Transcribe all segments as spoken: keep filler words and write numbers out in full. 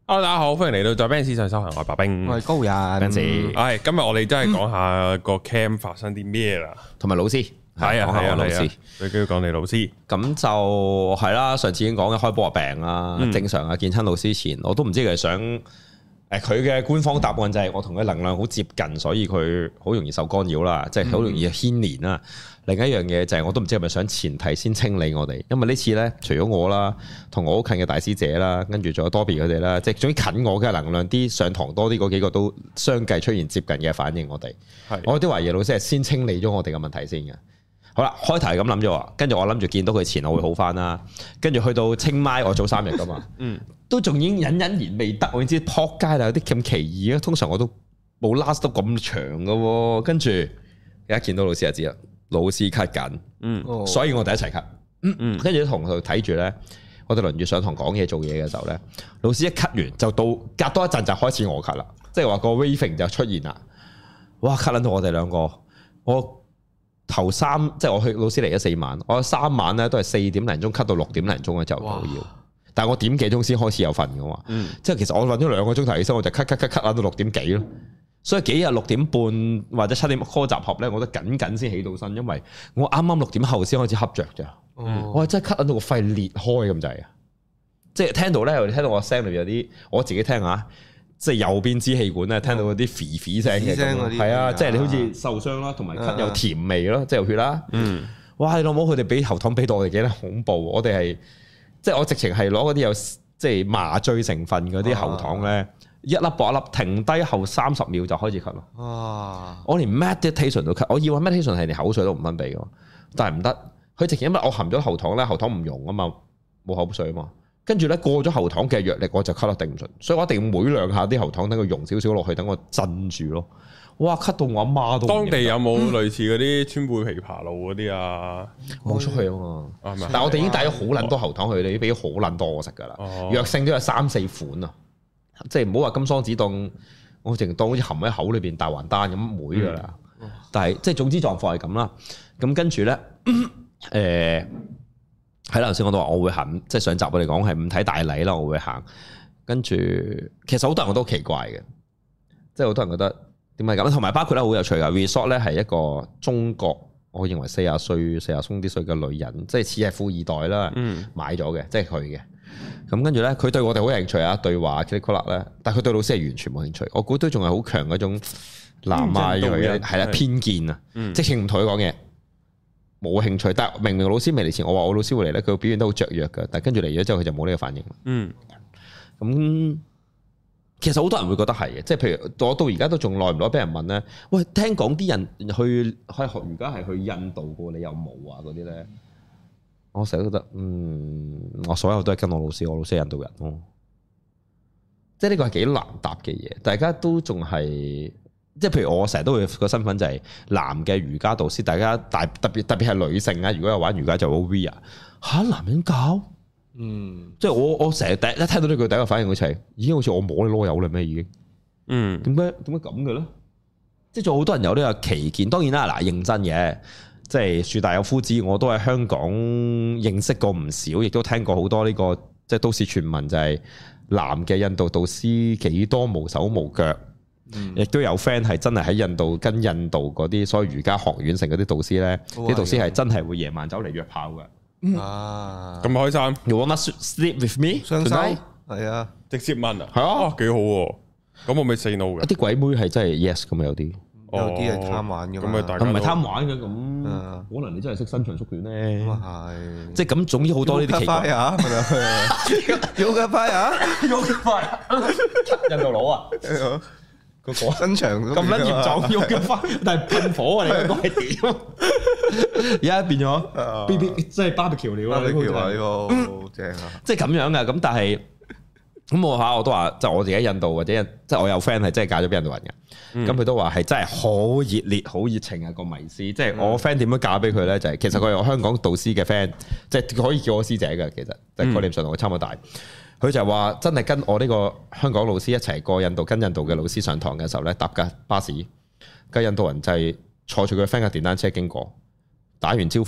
Hello，大家好，歡迎嚟到在 Benz 上修行，我係白兵， 我係高人。 Benz，係今日我哋真係講下個 camp 發生啲咩啦， 同埋老師， 係啊係啊， 老師， 最緊要講你老師。 咁就係啦，上次已經講嘅開波病啦，正常啊，見親老師前，我都唔知佢係想誒，佢嘅官方答案就係我同佢能量好接近，所以佢好容易受干擾啦，即係好容易牽連啦。另一樣嘢就係我都唔知係咪想前提先清理我哋，因為呢次呢，除咗我啦，同我好近嘅大師姐啦，跟住仲有多比佢哋啦，即係總之近我嘅能量啲上堂多啲嗰幾個都相繼出現接近嘅反應我，我哋係我啲懷疑老師係先清理咗我哋嘅問題先嘅。好啦，開頭係咁諗咗，跟住我諗住見到佢前我會好翻啦，跟住去到清邁我早三日噶嘛，嗯，都仲已經隱隱然未得，我已經知撲街啦，有啲咁奇異啊，通常我都冇 last 到咁長噶，跟住一見到老師就知啦。老師咳緊，嗯，所以我哋一齊咳，嗯嗯，跟住同佢睇住咧，我哋輪住上堂講嘢做嘢嘅時候咧，老師一咳完就到隔多一陣就開始我咳啦，即係話個 waving 就出現啦，哇，咳撚到我哋兩個，我頭三即係我去老師嚟咗四晚，我三晚咧都係四點零鐘咳到六點零鐘嘅就到要，但係我點幾鐘先開始有瞓嘅嘛，嗯，即係其實我瞓咗兩個鐘頭起身，我就咳咳咳咳到六點幾咯。所以幾日六點半或者七點 call 集合咧，我都緊緊先起到身，因為我啱啱六點後先開始瞌着咋。哦、我係真係咳到個肺裂開咁滯啊！即係聽到咧，我哋聽到我聲裏邊有啲，我自己聽下，即係右邊支氣管咧，聽到嗰啲啡啡聲嘅，係啊，即係你好似受傷啦，同埋咳有甜味咯，即係有血啦。嗯，哇！你老母佢哋俾喉糖俾到我哋幾得恐怖，我哋係即係我直情係攞嗰啲有即係麻醉成分嗰啲喉糖咧。啊一粒搏一粒，停低後三十秒就開始咳咯。哇！我連 meditation 都咳，我以為 meditation 係連口水都唔分泌嘅，但係唔得。佢直情因為我含咗喉糖咧，喉糖唔溶啊嘛，冇口水啊嘛。跟住咧過咗喉糖嘅藥力，我就咳得頂唔順，所以我一定要每兩下啲喉糖等佢溶少少落去，等我鎮住咯。哇！咳到我阿媽都。當地有冇類似嗰啲川貝枇杷露嗰啲啊？冇出去啊嘛。嗯、但係我哋已經帶咗好撚多喉糖去，你俾咗好撚多我食㗎啦。哦、藥性都有三四款啊。即係唔好話金桑子當，我淨當好似含喺口裏邊大還丹咁妹噶啦。嗯、但係即係總之狀況係咁啦。咁跟住咧，誒喺頭先我都話我會行，即係上集我哋講係唔睇大禮啦，我會行。跟住其實好多人我都奇怪嘅，即係好多人覺得點解咁？同埋包括咧好有趣噶 resort 咧係一個中國，我認為四十歲、四十鬆啲歲嘅女人，即係似係富二代啦，嗯、買咗嘅，即係佢嘅。咁跟住咧，佢對我哋好有興趣啊，對話 click 咧，但係佢對老師係完全冇興趣。我估都仲係好強嗰種南亞嘅係啦偏見啊，嗯、直情唔同佢講嘢，冇興趣。但係明明老師未嚟前，我話我老師會嚟咧，佢表現得好雀躍嘅，但係跟住嚟咗之後，佢就冇呢個反應。嗯，咁其實好多人會覺得係嘅，即係譬如我到而家都仲耐唔耐俾人問咧，喂，聽講啲人去去學瑜伽係去印度嘅，你有冇啊？嗰啲咧？我成日都覺得，嗯，我所有都係跟我老師，我老師係印度人咯，即係呢個係幾難答嘅嘢。大家都仲係，即係譬如我成日都會個身份就係男嘅瑜伽導師，大家大特別特別係女性啊，如果有玩瑜伽就好 weird 吓，男人教，嗯，即係我我成日第一聽到呢句第一個反應好似係，已經好似我摸你囉柚啦咩已經，嗯，點解點解咁嘅咧？即係仲好多人有呢個歧見，當然啦，嗱認真嘅。即係樹大有夫子，我都喺香港認識過唔少，亦都聽過好多呢、這個即係都市傳聞，就係男嘅印度導師幾多無手無腳，亦、嗯、都有 friend 係真係喺印度跟印度嗰啲所謂瑜伽學院成嗰啲導師咧，啲、哦、導師係真係會夜晚走嚟約炮嘅。嗯、啊，咁開心 ！You wanna sleep with me？雙手係啊，直接問啊，係啊，幾好喎！咁我咪 say no 嘅。啲鬼妹係真係 yes 咁有啲。有啲係貪玩嘅嘛，咁唔係貪玩嘅咁，可能你真係識伸長縮短咧。咁啊係，即係咁，總之好多呢啲奇怪啊！有嘅快啊，有嘅快啊！印度佬啊，個個伸長咁撚嚴重，有嘅快，但係噴火啊！你個係點？而家變咗 B B，即係 barbecue 料啦！呢個好正啊！即係咁樣嘅，咁但係。咁我下我都話，就我自己印度或者即係我有 friend 係真係嫁咗俾印度人嘅，咁佢、嗯、都話係真係好熱烈、好熱情啊個迷思。即係我 friend 點樣嫁俾佢咧？就係、是、其實佢係我香港導師嘅 friend，即係可以叫我師姐嘅。其實即係概念上同我差唔多大。佢就話真係跟我呢個香港老師一齊過印度，跟印度嘅老師上堂嘅時候咧，搭架巴士，個印度人就係坐住佢 friend 嘅電單車經過，打完招呼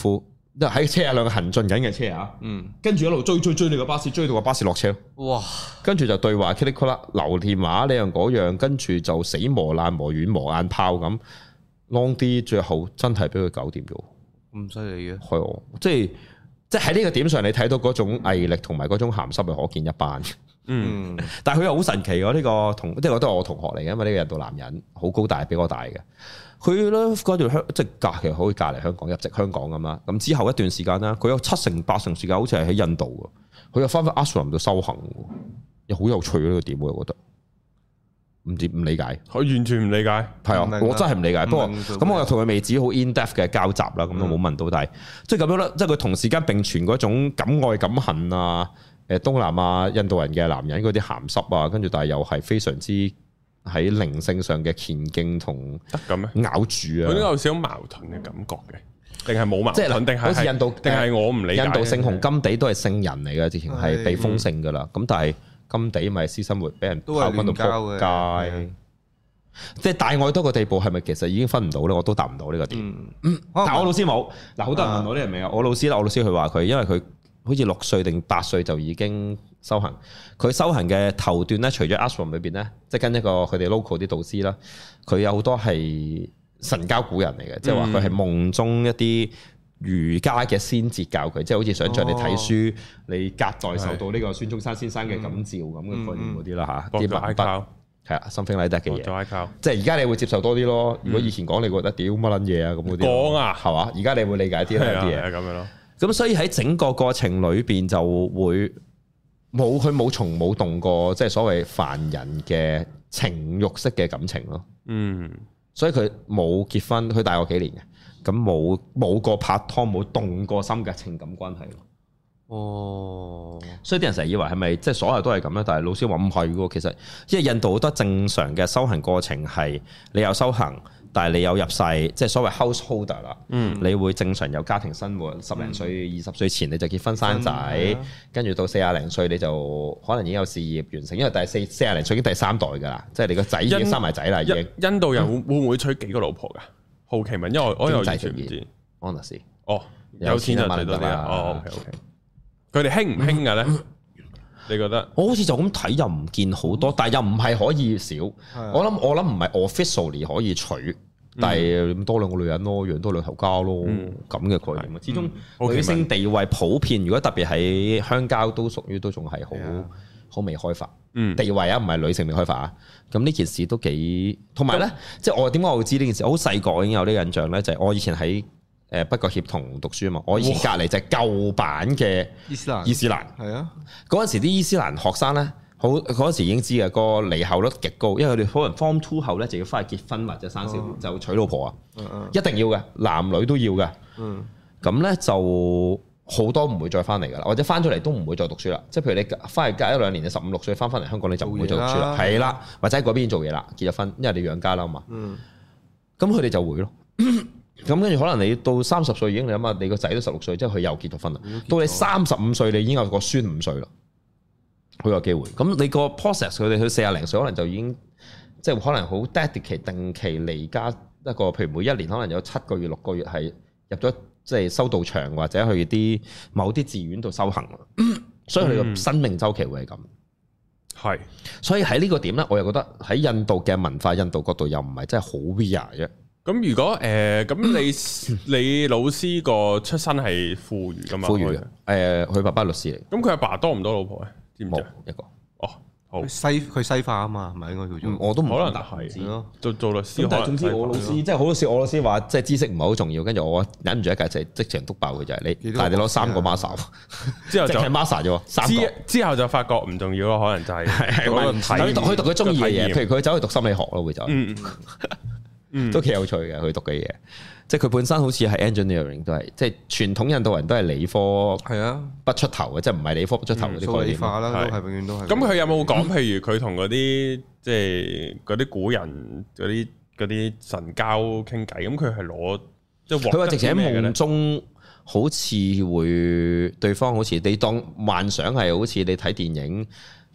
喺車啊兩個行進緊嘅車啊，嗯，跟住一路追追追你個巴士，追到個巴士落車，哇！跟住就對話 click click 啦，留電話呢樣嗰樣，跟住就死磨爛磨軟磨硬泡咁 long 啲，最後真係俾佢搞掂咗， 咁犀利嘅， 係哦，即係即係喺呢個點上，你睇到嗰種毅力同埋嗰種鹹濕係可見一斑。嗯，但係佢又好神奇喎，呢個同即係我都係我同學嚟嘅，因為呢個印度男人好高大，比我大嘅。佢咧嗰段香即係隔其實可以隔離香港入籍香港咁啦。咁之後一段時間咧，佢有七成八成時間好似係喺印度嘅，佢又翻返 ashram 度修行，又好有趣呢個點，我覺得唔知唔理解， 我完全唔理解， 係啊，我真係唔理解。不過咁我又同佢未止好 in depth 嘅交集啦，咁都冇問到，但係即係咁樣啦，即係佢同時間並存嗰種敢愛敢恨啊，誒東南亞印度人嘅男人嗰啲鹹濕啊，跟住但係又係非常之喺靈性上嘅虔敬同得咁咩咬住啊！ 佢都有少少矛盾嘅感覺嘅，定係冇矛盾？定係好似印度， 定係我唔理解？ 印度聖雄甘地都係聖人嚟嘅，直情係被封聖噶啦。咁但係甘地咪私生活俾人炮轟到仆街，即係大愛多個地步，係咪其實已經分唔到咧？我都答唔到呢個點。但係我老師冇嗱，好多人問我呢樣嘢啊。我老師啦，我老師佢話佢因為佢好似六歲定八歲就已經修行，佢修行嘅頭段咧，除咗 ashram 裏邊咧，即係跟一個佢哋 local 啲導師啦，佢有好多係神交古人嚟嘅，即係話佢係夢中一啲儒家嘅先哲教佢，即係好似想像你睇書，你隔代受到呢個孫中山先生嘅感召咁嘅概念嗰啲啦嚇，啲文筆係啊 something like that 嘅嘢，即係而家你會接受多啲咯。如果以前講你覺得屌乜撚嘢啊咁嗰啲，講啊係嘛？而家你會理解啲啦啲嘢咁樣咯。咁所以喺整個過程裏邊就會冇佢冇從冇動過，即係所謂凡人嘅情慾式嘅感情咯。嗯，所以佢冇結婚，佢大我幾年嘅，咁冇冇過拍拖，冇動過心嘅情感關係咯。哦，所以啲人成日以為係咪即係所有都係咁咧？但係老師話唔係喎，其實因為印度好多正常嘅修行過程係你有修行。但係你有入世，即係所謂 householder 啦，嗯，你會正常有家庭生活，十零歲、二十歲前你就結婚生仔，跟住到四廿零歲你就可能已經有事業完成，因為第四四廿零歲已經第三代㗎啦，即係你個仔已經生埋仔啦，已經。印度人會會唔會娶幾個老婆㗎？好奇問，因為我我又完全唔知。Honestly，哦，有錢就娶多啲啊。哦 OK OK，佢哋興唔興㗎咧？你覺得？我好似就咁睇又唔見好多，但係又唔係可以少。我諗我諗唔係 officially 可以娶，但係多兩個女人咯，養多兩頭家咯，咁嘅概念。始終女性地位普遍，如果特別喺鄉郊都屬於都仲係好好未開發。地位啊，唔係女性未開發啊。咁呢件事都幾，同埋咧，即係我點解我會知呢件事？我好細個已經有呢個印象咧，就係我以前喺誒北角協同讀書啊嘛，我以前隔離就係舊版嘅伊斯蘭，伊斯蘭係啊，嗰陣時啲伊斯蘭學生咧，好嗰陣時已經知嘅，個離校率極高，因為佢哋可能 form two 後咧就要翻去結婚或者生小孩，就娶老婆啊，一定要嘅，男女都要嘅，咁咧就好多唔會再翻嚟噶啦，或者翻咗嚟都唔會再讀書啦，即係譬如你翻去隔一兩年，你十五六歲翻翻嚟香港你就唔會再讀書啦，係啦，或者喺嗰邊做嘢啦，結咗婚，因為你養家啦嘛，咁佢哋就會咯。咁跟住可能你到三十歲已經，你諗下你個仔都十六歲，即係佢又結咗婚啦。到你三十五歲，你已經有個孫五歲啦，好有機會。咁你個 process 佢哋去四廿零歲，可能就已經即係可能好 dedicate 定期離家一個，譬如每一年可能有七個月、六個月係入咗即係修道場或者去啲某啲寺院度修行。所以佢個生命週期會係咁。係、嗯，所以喺呢個點咧，我又覺得喺印度嘅文化、印度角度又唔係真係好 weird 啫。咁如果誒咁、呃、你你老師個出身係富裕噶嘛？富裕嘅，誒佢、呃、爸爸律師嚟。咁佢阿爸多唔多老婆咧？知唔知？一個。哦，好。西佢西化啊嘛，係咪應該叫做？我都唔可能係咯。做做律師，但係總之我老師即係好多時，我老師話即係知識唔係好重要，跟住我忍唔住一屆就即場督爆佢就係你，但係你攞三個 master，之後就係 master 啫喎，三個之之後就發覺唔重要咯，可能就係嗰個睇。佢讀佢中意嘅嘢，譬如佢走去讀心理學咯，會就。嗯，都幾有趣嘅，佢讀嘅嘢，即係佢本身好似係 engineering 都係，即係傳統印度人都係理科，係啊，不出頭嘅，即係唔係理科不出頭嗰啲概念。數理化啦，都係永遠都係。咁佢有冇講？譬如佢同嗰啲即係嗰啲古人嗰啲嗰啲神交傾偈，咁佢係攞即係佢話直情喺夢中，好似會對方好似你當幻想係好似你睇電影。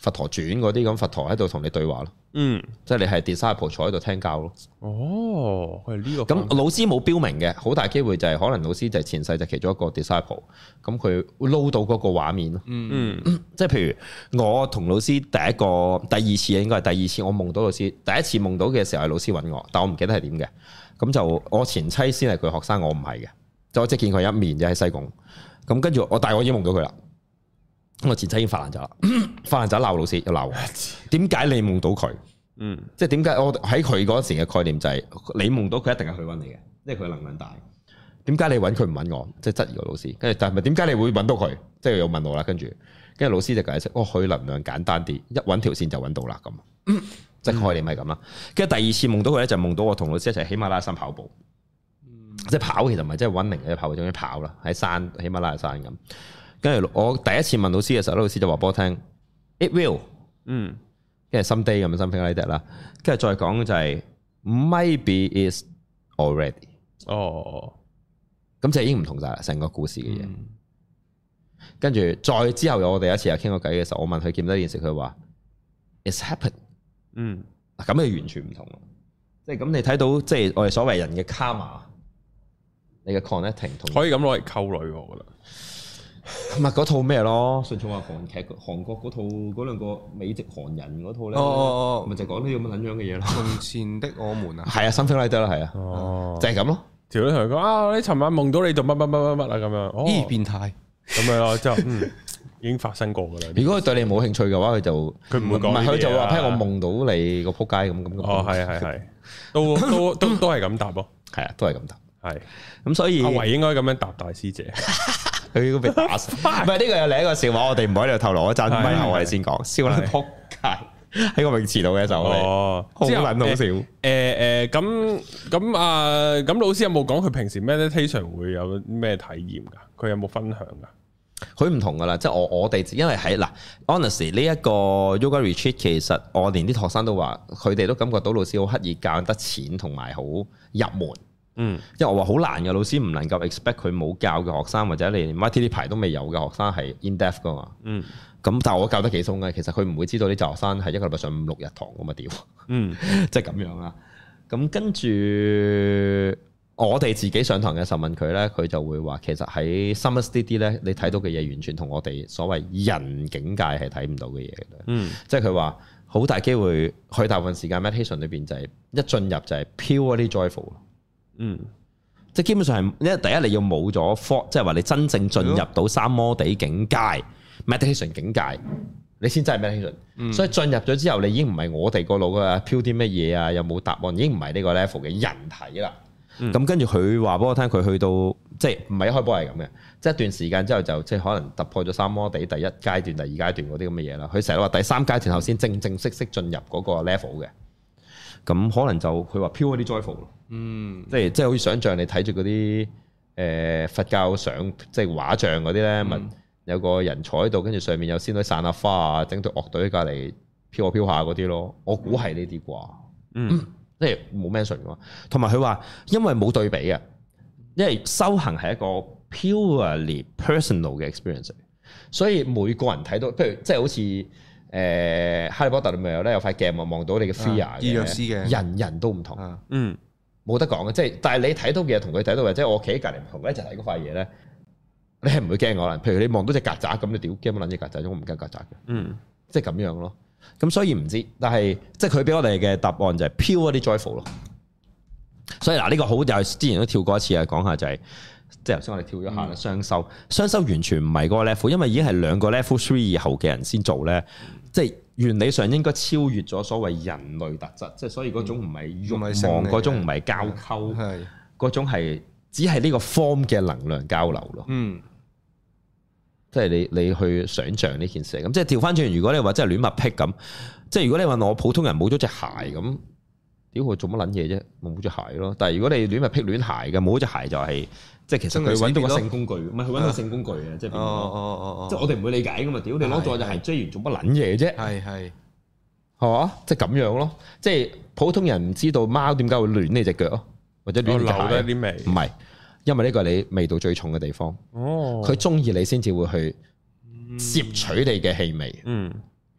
佛陀傳嗰啲咁，佛陀喺度同你對話咯。嗯，即係你係 disciple 坐喺度聽教咯。 哦，係呢個。 咁老師冇標明嘅，好大機會就係可能老師就係前世就其中一個 disciple，咁佢會撈到嗰個畫面咯。嗯嗯，即係譬如我同老師第一個、第二次應該係第二次，我夢到老師，第一次夢到嘅時候係老師揾我，但我唔記得係點嘅。咁就我前妻先係佢學生，我唔係嘅，就我即係見佢一面就喺西貢。咁跟住我，但係我已經夢到佢啦。我前妻已經發爛渣啦，發爛渣鬧老師又鬧我，點解你夢到佢？嗯，即係點解我喺佢嗰時嘅概念就係你夢到佢一定係佢揾你嘅，因為佢能量大。點解你揾佢唔揾我？即係質疑個老師。跟住但係咪點解你會揾到佢？即係又問我啦。跟住跟住老師就解釋，哦，佢能量簡單啲，一揾條線就揾到啦咁。嗯，即係概念係咁啦。跟住第二次夢到佢咧，就夢到我同老師一齊喜馬拉雅山跑步。嗯，即係跑其實唔係即係揾零嘅跑步，總之跑啦，喺山喜馬拉雅山咁。跟住我第一次問老師嘅時候，老師就話俾我聽 ，it will， 嗯，跟住 someday 咁樣 something like that 啦，跟住再講就係 maybe is already， 哦，咁就已經唔同晒啦，成個故事嘅嘢。跟住、嗯、再之後有我哋一次又傾過偈嘅時候，我問佢見唔見到件事，佢話 it's happened， 嗯，咁就完全唔同啦，即係咁你睇到即係我哋所謂人嘅 karma， 你嘅 connecting 同可以咁攞嚟溝女，我覺得。 唔係嗰套咩咯？順從話韓劇，韓國嗰套嗰兩個美籍韓人嗰套咧，哦咪就講呢啲咁嘅撚樣嘅嘢咯。 從前的我們啊， 係啊，something like that 啦，係啊，哦，就係咁咯。 條女同佢講啊，你尋晚夢到你做乜乜乜乜乜啊咁樣， 咦，變態咁樣咯，之後嗯已經發生過噶啦。 如果佢對你冇興趣嘅話，佢就佢唔會講， 唔係佢就話，譬如我夢到你個仆街咁咁。 哦，係係係，都都都都係咁答咯， 係啊，都係咁答，係咁所以阿維應該咁樣答大師姐。 佢都被打死，唔係呢個有另一個笑話，我哋唔喺度透露，一陣咪後我哋先講，笑到撲街喺個泳池度嘅時候，哦，好撚好笑。誒誒，咁咁啊，咁老師有冇講佢平時 meditation 會有咩體驗㗎？佢有冇分享㗎？ 佢唔同㗎啦，即係我我哋因為喺嗱 honestly 呢一個 yoga retreat，其實我連啲學生都話，佢哋都感覺到老師好刻意教得淺同埋好入門。嗯，因為我話好難嘅，老師唔能夠 expect 佢冇教嘅學生，或者你連 Y T 呢排都未有嘅學生係 in depth 噶嘛。嗯，咁但係我教得幾鬆嘅，其實佢唔會知道啲就學生係一個禮拜上五六日堂咁啊屌。嗯，即係咁樣啦。咁跟住我哋自己上堂嘅時候問佢咧，佢就會話其實喺 summer study 咧，你睇到嘅嘢完全同我哋所謂人境界係睇唔到嘅嘢嘅。嗯，即係佢話好大機會，佢大部分時間 meditation 裏邊就係一進入就係 purely joyful。嗯，即係基本上係，因為第一你要冇咗 thought， 即係話你真正進入到三摩地境界 meditation 境界，你先真係 meditation。嗯、所以進入咗之後，你已經唔係我哋個腦嘅飄啲乜嘢啊，有冇答案，已經唔係呢個 level 嘅人體啦。咁、嗯、跟住佢話俾我聽，佢去到即係唔係一開波係咁嘅，即係一段時間之後就即係可能突破咗三摩地第一階段、第二階段嗰啲咁嘅嘢啦。佢成日話第三階段後先正正式式進入嗰個 level 嘅。咁可能就佢話飄嗰啲 joyful 咯，嗯，即係即係好似想像你睇住嗰啲誒佛教相，即係畫像嗰啲咧，咪、嗯、有個人坐喺度，跟住上面有仙女散下花啊，整隊樂隊喺隔離飄下飄下嗰啲咯，我估係呢啲啩，嗯，即係冇 mention 嘅嘛。同埋佢話因為冇對比嘅，因為修行係一個 purely personal 嘅 experience，所以每個人睇到，譬如即係好似。誒哈利波特裏面有咧有塊鏡望望到你嘅 fear 嘅，人人都唔同，嗯，冇得講嘅，即係但係你睇到嘅嘢同佢睇到嘅，即係我企喺隔離唔同，一齊睇嗰塊嘢咧，你係唔會驚我啦。譬如你望到隻曱甴咁，你屌驚乜撚隻曱甴？我唔驚曱甴嘅，嗯，即係咁樣咯。咁所以唔知，但係即係佢俾我哋嘅答案就係 pure 啲 joyful 咯。所以嗱，呢個好又係之前都跳過一次啊，講下就係即係頭先我哋跳咗下啦，雙修，雙修完全唔係嗰個 level，因為已經係兩個 level three 以後嘅人先做咧。即係原理上應該超越咗所謂人類特質，即係所以嗰種唔係慾望，嗰種唔係交溝，係嗰種係只係呢個 form 嘅能量交流咯。嗯，即係你你去想像呢件事咁，即係調翻轉。如果你話真係亂物癖咁，即係如果你話我普通人冇咗隻鞋咁，屌佢做乜撚嘢啫？冇隻鞋咯。但係如果你亂物癖亂鞋嘅，冇隻鞋就係、是。即係其實佢揾到個性工具，唔係佢揾到性工具嘅，即係變咗。哦哦哦即係我哋唔會理解噶嘛？屌你攞咗隻鞋追完做乜撚嘢啫？係係，係嘛？即係咁樣咯。即係普通人唔知道貓點解會亂你隻腳咯，或者亂咬咧啲味。唔係，因為呢個係你味道最重嘅地方。哦，佢中意你先至會去攝取你嘅氣味。嗯，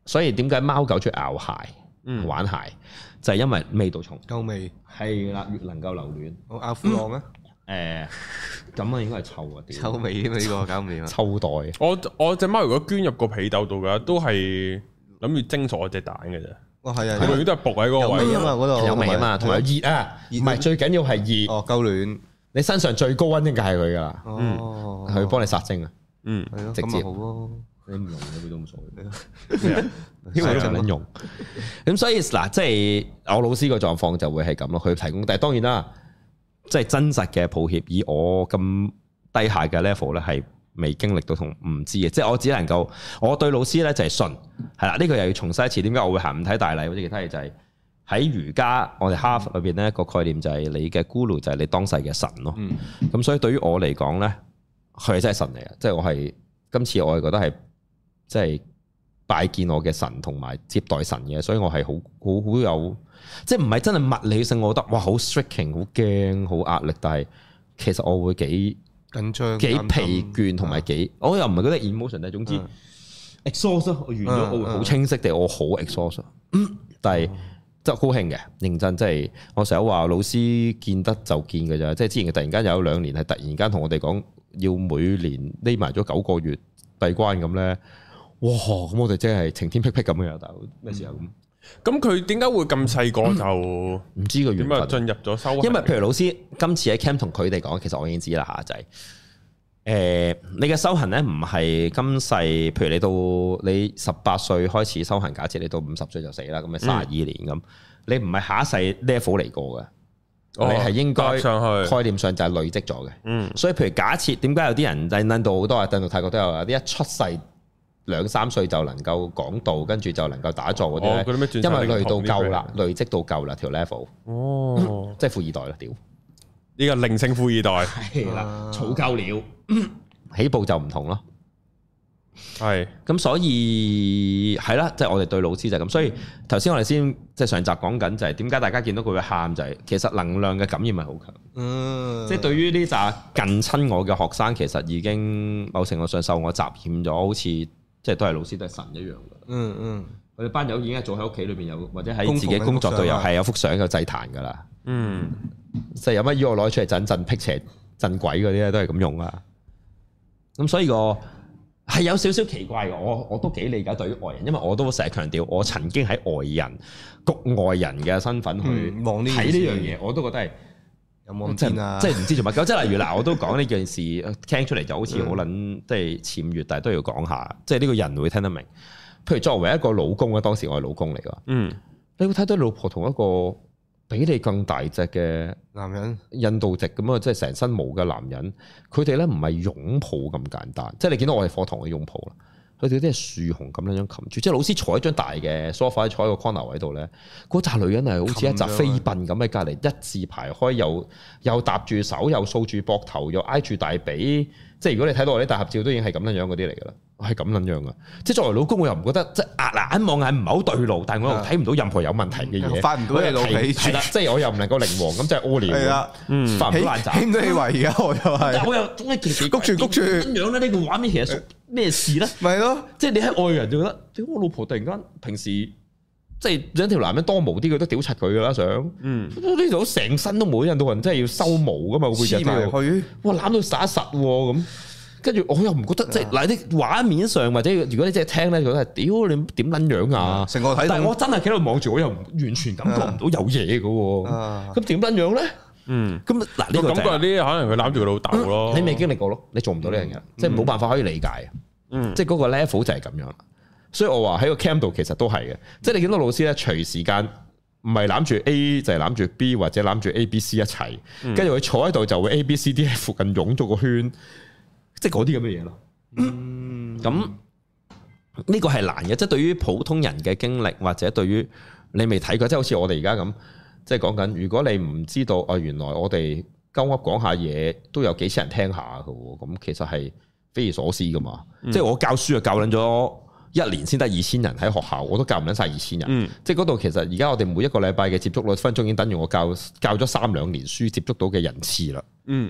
所以點解貓狗中意咬鞋、 嗯、 玩鞋，就係、是、因為味道重， 夠味係啦，越能夠留戀。 我咬褲浪啊！ 誒，咁啊應該係臭啊， 臭味啊嘛呢個搞唔掂啊！ 臭袋。 我我隻貓如果捐入個被竇度嘅，都係諗住蒸熟我隻蛋嘅啫。 哇係啊， 佢永遠都係伏喺嗰個位啊嘛，嗰度有味啊嘛，同埋熱啊，唔係最緊要係熱。 哦，夠暖。 你身上最高溫應該係佢噶啦。 哦， 佢幫你殺精啊。 嗯， 係咯， 直接好咯。 你唔用佢都冇所謂，因為都唔撚用。咁所以嗱，即係我老師個狀況就會係咁咯。佢提供，但係當然啦，即係真實嘅抱歉。以我咁低下嘅 level 咧，係未經歷到同唔知嘅。即係我只能夠，我對老師咧就係信，係啦。呢個又要重申一次，點解我會行五體大禮或者其他嘢？就係喺儒家，我哋哈佛裏邊咧個概念就係你嘅 guru就係你當世嘅神咯。咁、嗯、所以對於我嚟講咧，佢係真係神嚟嘅。即係我係今次我係覺得係。即係拜見我嘅神同埋接待神嘅，所以我係好好好有，即係唔係真係物理性，我覺得哇好 striking 好驚好壓力，但係其實我會幾緊張、 幾疲倦同埋幾，嗯、我又唔係覺得 emotion，但係總之 exhaust，我完咗、嗯、我會好清晰地，嗯、我好 exhaust，但係即係高興嘅，認真即係我成日話老師見得就見嘅咋，即係之前突然間有兩年係突然間同我哋講要每年匿埋咗九個月閉關咁咧。哇！咁我哋真係晴天霹靂咁嘅，大佬咩時候咁？ 咁佢點解會咁細個就唔、 嗯、知個原因？點解進入咗修行？ 因為譬如老師今次喺 camp 同佢哋講，其實我已經知啦嚇，就係、是、誒、呃、你嘅修行咧，唔係今世，譬如你到你十八歲開始修行，假設你到五十歲就死啦，咁咪卅二年咁，嗯、你唔係下一世 level 嚟過嘅，哦、你係應該上去概念上就係累積咗嘅。嗯，所以譬如假設點解有啲人喺印度好多啊，印度泰國都有啊，啲一出世。兩三歲就能夠講道，跟住就能夠打坐嗰啲咧，哦、因為累到夠啦，累積到夠啦條 level，哦，即係富二代啦，屌！ 呢個靈性富二代係啦，儲夠了，起步就唔同咯。係咁是， 所以係啦，即係、就是、我哋對老師就係咁。所以頭先我哋先即係上集講緊就係點解大家見到佢會喊就係、是、其實能量嘅感染係好強。嗯，即係對於呢紮近親我嘅學生，其實已經某程度上受我襲染咗，好似。即係都係老師都係神一樣嘅、嗯。嗯嗯，我哋班友已經係做喺屋企裏邊有，或者喺自己工作度又係有幅相有祭壇㗎啦。嗯，即係有乜嘢我攞出嚟鎮鎮辟邪鎮鬼嗰啲咧，都係咁用啊。咁所以個係有少少奇怪嘅，我我都幾理解對於外人，因為我都成日強調，我曾經喺外人局外人嘅身份去望呢睇呢樣嘢，我都覺得係。有冇天啊？即係唔知做乜鳩，即係例如嗱，我都講呢件事，聽出嚟就好似好撚即係僭越，但係都要講下，即係呢個人會聽得明。譬如作為一個老公咧，當時我係老公嚟噶，嗯，你會睇到老婆同一個比你更大隻嘅男人，印度籍咁啊，即係成身毛嘅男人，佢哋咧唔係擁抱咁簡單，即係你見到我哋課堂嘅擁抱啦。佢哋啲係樹熊咁樣樣擒住，即係老師坐喺張大嘅 sofa，坐喺個 corner 位度咧，嗰紮女人係好似一紮飛奔咁喺隔離一字排開，又又搭住手，又掃住膊頭，又挨住大髀。即係如果你睇到我啲大合照，都已經係咁樣樣嗰啲嚟㗎啦，係咁樣樣㗎。即係作為老公，我又唔覺得即係壓眼望眼唔係好對路，但係我又睇唔到任何有問題嘅嘢， 發唔到你老脾， 係啦，即係我又唔能夠靈王咁，即係屙尿，係啦，發唔到爛渣， 起唔到氣圍而家我又係， 但我又總係奇奇谷住谷住咁樣咧。呢個畫面其實屬咩事咧？ 咪咯， 即係你喺外人就覺得，屌我老婆突然間平時。即係兩條男人多毛啲，佢都屌柒佢噶啦，想，嗯，呢度成身都冇，印度人真係要收毛噶嘛，個背脊度，哇攬到實一實咁，跟住我又唔覺得，即係嗱啲畫面上或者如果你真係聽咧，覺得係屌你點撚樣啊，成個睇，但係我真係企喺度望住，我又完全感覺唔到有嘢噶，咁點撚樣咧？嗯，咁嗱呢個感覺啲可能佢攬住佢老豆咯， 你未經歷過咯，你做唔到呢樣嘢，即係冇辦法可以理解，嗯，即係嗰個 level 就係咁樣。所以我話喺個 camp 度其實都係嘅，即係你見到老師咧，隨時間唔係攬住 A 就係攬住 B 或者攬住 A、B、C 一齊，跟住佢坐喺度就會 A、B、C、D 喺附近湧咗個圈，即係嗰啲咁嘅嘢咯。咁呢個係難嘅，即係對於普通人嘅經歷或者對於你未睇過，即係好似我哋而家咁，即係講緊，如果你唔知道啊，原來我哋鳩噏講下嘢都有幾千人聽下嘅，咁其實係匪夷所思噶嘛。嗯、即係我教書就教撚咗。一年先得二千人喺學校，我都教唔撚晒二千人。嗯、即係嗰度其實而家我哋每一個禮拜嘅接觸率分鐘已經等於我教教咗三兩年書接觸到嘅人次啦。嗯，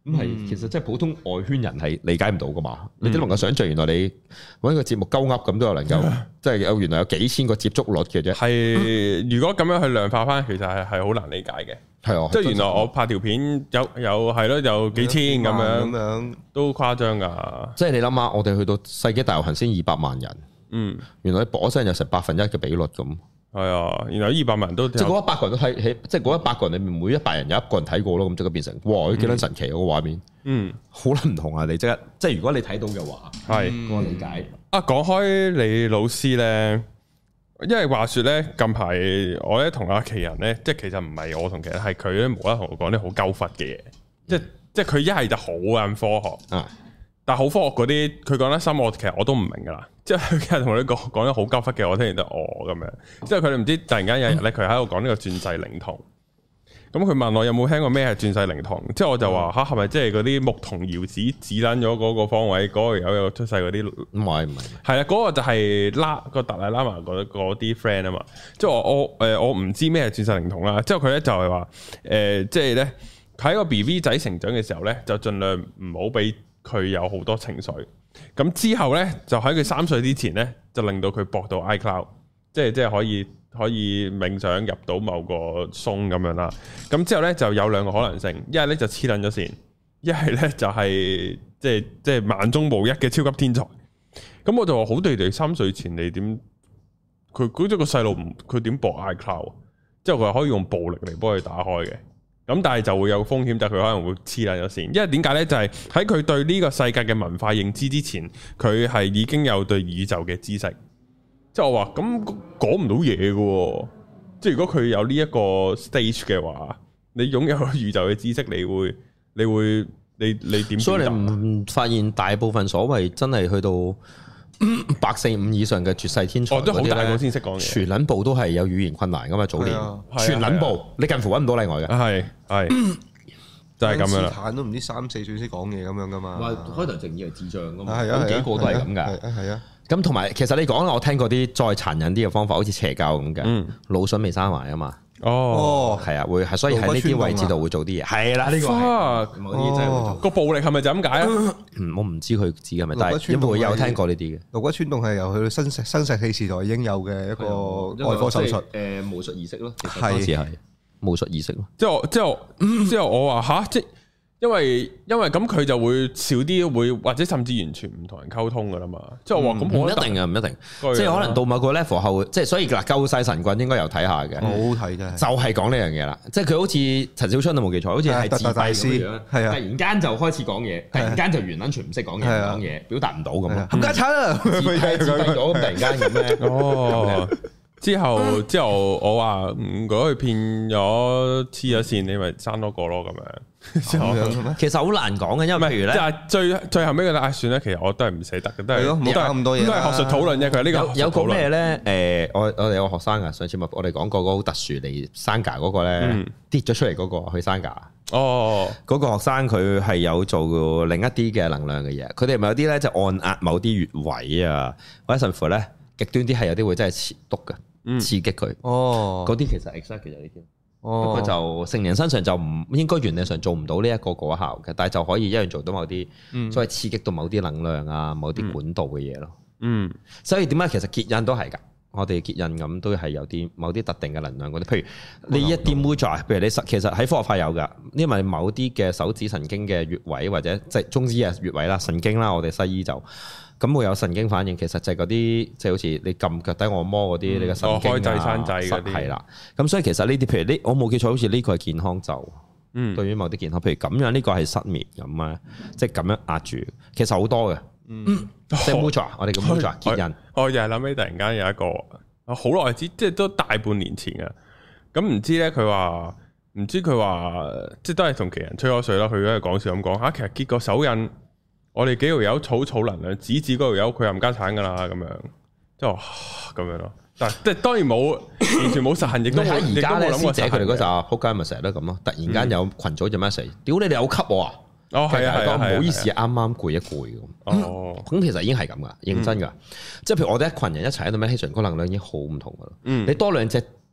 咁係其實即係普通外圈人係理解唔到噶嘛，你都能夠想象原來你揾一個節目鳩噏咁都有能夠，即係有原來有幾千個接觸率嘅啫。 係如果咁樣去量化翻，其實係係好難理解嘅。 係啊， 即係原來我拍條片有有係咯，有幾千咁樣，咁樣都誇張噶。 即係你諗下，我哋去到世紀大遊行先二百萬人，嗯，原來你播聲有成百分一嘅比率咁。係啊，原來二百萬人都即係嗰一百個人都睇起，即係嗰一百個人裏面每一百人有一個人睇過咯，咁即刻變成哇，幾撚神奇嗰個畫面。嗯，好撚唔同啊！你即刻即係如果你睇到嘅話，係我理解。 啊，講開你老師咧。因為話說咧，近排我咧同阿奇人咧，即係其實唔係我同奇人，係佢咧無啦啦同我講啲好鳩忽嘅嘢，即係即係佢一係就好啱科學，啊、但係好科學嗰啲，佢講得深，我其實我都唔明噶啦。即係佢其實同你講講得好鳩忽嘅，我聽完就哦咁樣。即係佢哋唔知突然間有一日咧，佢喺度講呢個轉世靈童。咁佢問我有冇聽過咩係轉世靈童，之後我就話吓，係咪即係嗰啲牧童遙指指捻咗嗰個方位嗰個有有出世嗰啲？唔係唔係，係啊，嗰個就係拉個達賴喇嘛嗰嗰啲 friend 啊嘛。即係我我誒我唔知咩係轉世靈童啦。之後佢咧就係話誒，即係咧喺個 B B 仔成長嘅時候咧，就盡量唔好俾佢有好多情緒。咁之後咧就喺佢三歲之前咧，就令到佢駁到 iCloud，即係即係可以。可以冥想入到某個松咁樣啦，咁之後咧就有兩個可能性，一係咧就黐撚咗線，一係咧就係即係即係萬中無一嘅超級天才。咁我就話好地地三歲前你點？佢估咗個細路唔佢點駁 iCloud？之後佢可以用暴力嚟幫佢打開嘅，咁但係就會有風險，就係佢可能會黐撚咗線。因為點解咧？就係喺佢對呢個世界嘅文化認知之前，佢係已經有對宇宙嘅知識。即係我話咁講唔到嘢嘅，即係如果佢有呢一個 stage 嘅話，你擁有宇宙嘅知識，你會你會你你點？ 所以你唔發現大部分所謂真係去到百四五以上嘅絕世天才， 哦，都好大個先識講嘢， 全撚部都係有語言困難噶嘛？早年全撚部，你近乎揾唔到例外嘅， 係係就係咁樣啦。 坦都唔知三四歲先講嘢咁樣噶嘛？ 話開頭淨以為智障噶嘛？ 係啊， 幾個都係咁噶， 係啊。 咁同埋，其實你講啦，我聽過啲再殘忍啲嘅方法，好似邪教咁嘅，嗯、腦筍未生埋啊嘛。哦，係啊，會係，所以喺呢啲位置度會做啲嘢。係啦，呢、這個係某啲真係會做。個、哦、暴力係咪就咁解啊？我唔知佢指係咪，但係因為我有聽過呢啲嘅。顱骨穿洞係由佢新石新石器時代已經有嘅一個外科手術。誒、呃，巫術儀式咯，其實當時係巫術儀式咯。之後之後之後我話吓即。因為因為咁佢就會少啲會或者甚至完全唔同人溝通噶啦嘛，即係我話咁唔一定啊，唔一定，即係可能到某個 level 後，即係所以嗱，救世神棍應該有睇下嘅，好好睇嘅，就係講呢樣嘢啦，即係佢好似陳小春都冇記錯，好似係自閉咁樣，係啊，突然間就開始講嘢，突然間就完全唔識講嘢，講嘢表達唔到咁咯，冚家鏟啊，自閉咗咁突然間咁咧，哦。之後之後我話如果佢騙咗黐咗線，你咪生多個咯咁樣。之後其實好難講嘅，因為譬如咧，即係最最後尾嘅答案算咧，其實我都係唔捨得嘅，都係冇得咁多嘢，都係學術討論啫。佢呢個有有個咩咧？誒，我我哋有個學生啊，上次我哋講過嗰個好特殊嚟山架嗰個咧，跌咗出嚟嗰個去山架。哦，嗰個學生佢係有做另一啲嘅能量嘅嘢，佢哋咪有啲咧就按壓某啲穴位啊，或者甚至乎咧極端啲係有啲會真係切篤嘅。刺激佢，哦，嗰啲其實 exact 其實呢啲，不過就成人身上就唔應該原理上做唔到呢一個果效嘅，但係就可以一樣做到某啲，所謂刺激到某啲能量啊，某啲管道嘅嘢咯。嗯，所以點解其實結印都係㗎，我哋結印咁都係有啲某啲特定嘅能量嗰啲，譬如呢一啲 mudra，譬如你實其實喺科學派有㗎，因為某啲嘅手指神經嘅穴位或者即係中醫嘅穴位啦，神經啦，我哋西醫就。咁會有神經反應，其實就係嗰啲即係好似你撳腳底按摩嗰啲，你嘅神經啊，開掣閂掣嗰啲係啦。咁所以其實呢啲，譬如呢，我冇記錯，好似呢個係健康就，嗯，對於某啲健康，譬如咁樣呢個係失眠咁啊，即係咁樣壓住，其實好多嘅，嗯，即係 mudra，我哋叫 mudra 結印。我又係諗起突然間有一個，好耐之，即係都大半年前嘅。咁唔知咧，佢話唔知佢話，即係都係同奇人吹咗水啦。佢喺度講笑咁講嚇，其實結個手印。我哋幾條友草草能量，指指嗰條友佢又唔家產噶啦，咁樣即係咁樣咯。但係即係當然冇完全冇實行，亦都喺而家咧師姐佢哋嗰陣撲街咪成日都咁咯。突然間有群組就 message，屌你哋有吸我啊！哦係啊係啊，唔好意思，啱啱攰一攰咁。哦，咁其實已經係咁噶，認真噶。即係譬如我哋一群人一齊喺度 meditation，個能量已經好唔同噶啦。你多兩隻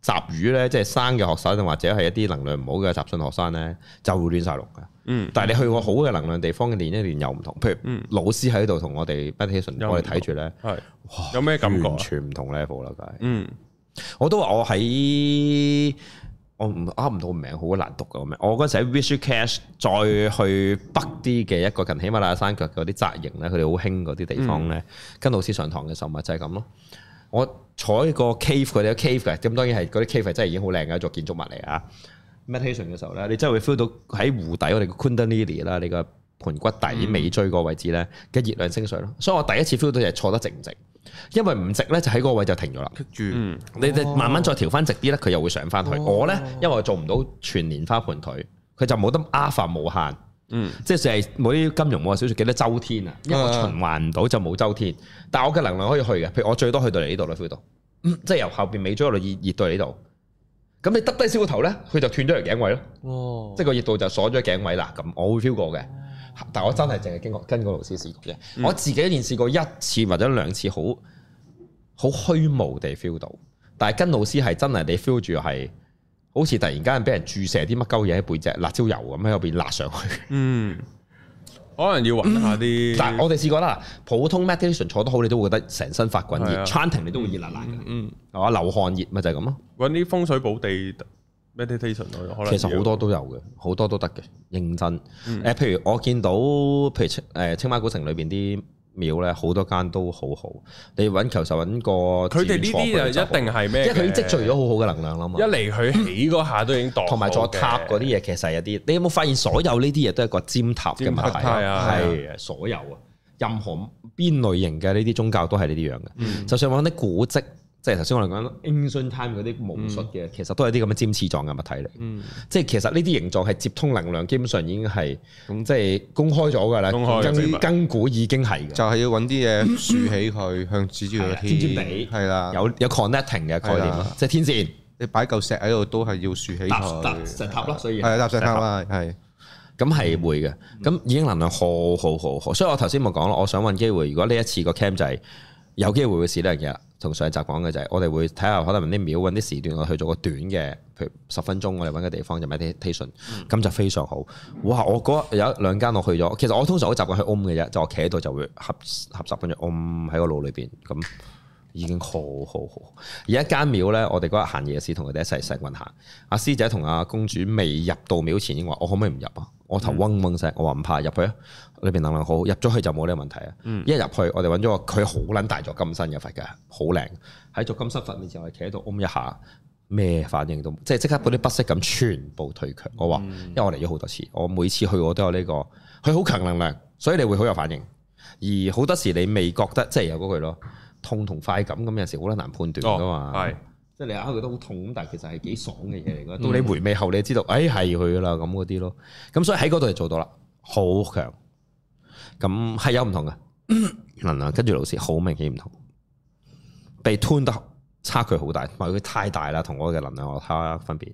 雜魚咧，即係生嘅學生或者係一啲能量唔好嘅雜訊學生咧，就會亂晒龍嘅。嗯，但係你去過好嘅能量地方嘅練一練又唔同，譬如老師喺度同我哋 meditation，我哋睇住咧，係有咩感覺？ 完全唔同 level 啦，梗係。 嗯， 我都話我喺我唔啱唔到名，好難讀嘅名。我嗰陣時喺 Rishikesh 再去北啲嘅一個近喜馬拉雅山腳嗰啲紮營咧，佢哋好興嗰啲地方咧，跟老師上堂嘅時候咪就係咁咯。我坐喺個 cave，佢哋有 cave 嘅，咁當然係嗰啲 cave 真係已經好靚嘅一座建築物嚟啊。meditation 嘅時候咧，你真係會 feel 到喺湖底我哋嘅 Kundalini 啦，你個盤骨底尾椎個位置咧嘅熱量升上咯。所以我第一次 feel 到就係坐得直唔直，因為唔直咧就喺嗰個位就停咗啦。 住， 你哋慢慢再調翻直啲咧，佢又會上翻去。我咧因為我做唔到全蓮花盤腿，佢就冇得 alpha 無限。嗯，即係就係冇啲金融冇小説記得周天啊，因為我循環唔到就冇周天，但係我嘅能量可以去嘅，譬如我最多去到嚟呢度啦 feel 到，即係由後邊尾椎嗰度熱熱到嚟呢度，咁你耷低少個頭咧，佢就斷咗條頸位咯，哦，即係個熱度就鎖咗頸位啦，咁我會 feel 過嘅，但係我真係淨係經過跟個老師試過嘅，嗯、我自己練試過一次或者兩次，好好虛無地 feel 到，但係跟老師係真係你 feel 住係。好似突然間俾人注射啲乜鳩嘢喺背脊，辣椒油咁喺入邊辣上去。嗯， 可能要揾下啲。 但係我哋試過啦，普通 meditation 坐得好，你都會覺得成身發滾熱 chanting 你都會熱辣辣嘅。嗯，係嘛？流汗熱咪就係咁咯。 揾啲風水寶地 meditation 可能。 其實好多都有嘅，好多都得嘅，認真。誒、嗯，譬如我見到，譬如誒青馬古城裏邊啲廟咧，好多間都好好。你揾求實揾個， 佢哋呢啲就一定係咩？ 因為佢已經積聚咗好好嘅能量啦嘛。一嚟佢起嗰下都已經當同埋座塔嗰啲嘢，其實有啲。你有冇發現所有呢啲嘢都係個尖塔嘅問題？係啊，係所有啊，任何邊類型嘅呢啲宗教都係呢啲樣嘅。嗯、就算揾啲古蹟。即係頭先我哋講 ancient time 嗰啲巫術嘅，嗯、其實都係啲咁嘅尖刺狀嘅物體嚟。嗯、即係其實呢啲形狀係接通能量，基本上已經係咁即係公開咗㗎啦。根根古已經係嘅， 就係要揾啲嘢豎起佢，向指住個天， 尖尖地係啦， 有有 connecting 嘅概念咯，即係天線。 你擺嚿石喺度都係要豎起佢， 石塔咯，所以係搭石塔啦，係。 咁係會嘅，咁已經能量好好好好。所以我頭先冇講啦，我想揾機會，如果呢一次個 camp 就係有機會會試呢樣嘢啦。同上一集講嘅就係，我哋會睇下可能啲廟揾啲時段，我去做個短嘅，譬如十分鐘，我哋揾個地方就 meditation，咁就非常好。哇！我嗰有一兩間我去咗，其實我通常好習慣去 Om 嘅啫，就我企喺度就會合合十分鐘 Om 喺個腦裏邊，咁已經好好好。而一間廟咧，我哋嗰日行夜市同佢哋一齊成運行，阿師姐同阿公主未入到廟前已經話：我可唔可以唔入啊？我頭嗡嗡聲，我話唔怕入去啊！裏邊能量好，入咗去就冇呢個問題啊！嗯、一入去，我哋揾咗個佢好撚大座金身嘅佛嘅，好靚。喺座金身佛面前，我哋企喺度嗡一下，咩反應都，即係即刻嗰啲不適感全部退卻。我話，因為我嚟咗好多次，我每次去我都有呢、這個，佢好強能量，所以你會好有反應。而好多時你未覺得，即係有嗰句咯，痛同快感咁有時好難難判斷噶嘛。係、哦，即係你啱覺得好痛，但係其實係幾爽嘅嘢嚟噶。到你回味後，你就知道，誒係佢噶啦咁嗰啲咯。咁所以喺嗰度就做到啦，好強。咁係有唔同嘅能量，跟住老師好明顯唔同，被 tune 得差距好大，唔係佢太大啦，同我嘅能量我睇分別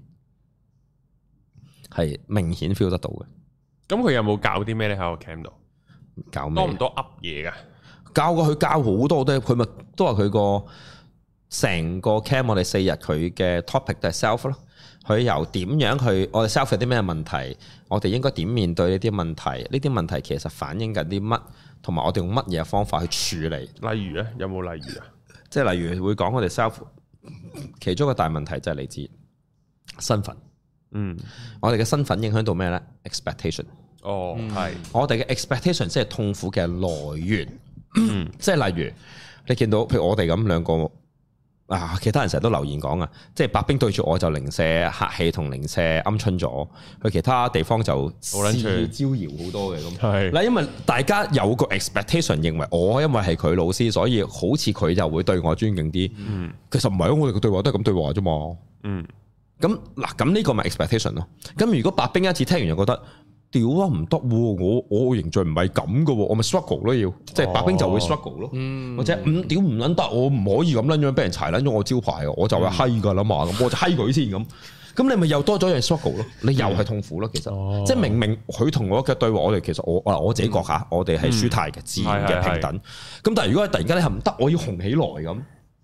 係明顯 feel 得到嘅。 咁佢有冇教啲咩咧喺個 camp 度？ 教咩？ 多唔多噏嘢噶？ 教過佢教好多都，佢咪都話佢個成個 camp 我哋四日佢嘅 topic 就係 self 咯。佢由點樣去我哋 self 有啲咩問題，我哋應該點面對呢啲問題？呢啲問題其實反映緊啲乜，同埋我哋用乜嘢方法去處理？ 例如咧，有冇例如啊？ 即係例如會講我哋 self 其中一個大問題就係嚟自身份。嗯，我哋嘅身份影響到咩咧 ？expectation。哦，係。我哋嘅 expectation 即係痛苦嘅來源。嗯，即係例如你見到譬如我哋咁兩個。啊！其他人成日都留言講啊，即係白兵對住我就零舍客氣同零舍鵪鶉咗，去其他地方就肆意招搖好多嘅咁。係嗱，因為大家有個 expectation 認為我因為係佢老師，所以好似佢就會對我尊敬啲。嗯，其實唔係啊，我哋嘅對話都係咁對話啫嘛。嗯，咁嗱，咁呢個咪 expectation 咯。咁如果白兵一次聽完就覺得，屌啊唔得，我我形象唔係咁噶，我咪 struggle 咯，要即係白兵就會 struggle 咯，或者唔屌唔捻得，我唔可以咁捻樣俾人柴捻咗我招牌，我就係閪噶啦嘛，咁我就閪佢先咁，咁你咪又多咗樣 struggle 咯，你又係痛苦咯，其實即係明明佢同我嘅對話，我哋其實我我自己覺下，我哋係舒泰嘅、自然嘅、平等，咁但係如果突然間你係唔得，我要紅起來咁，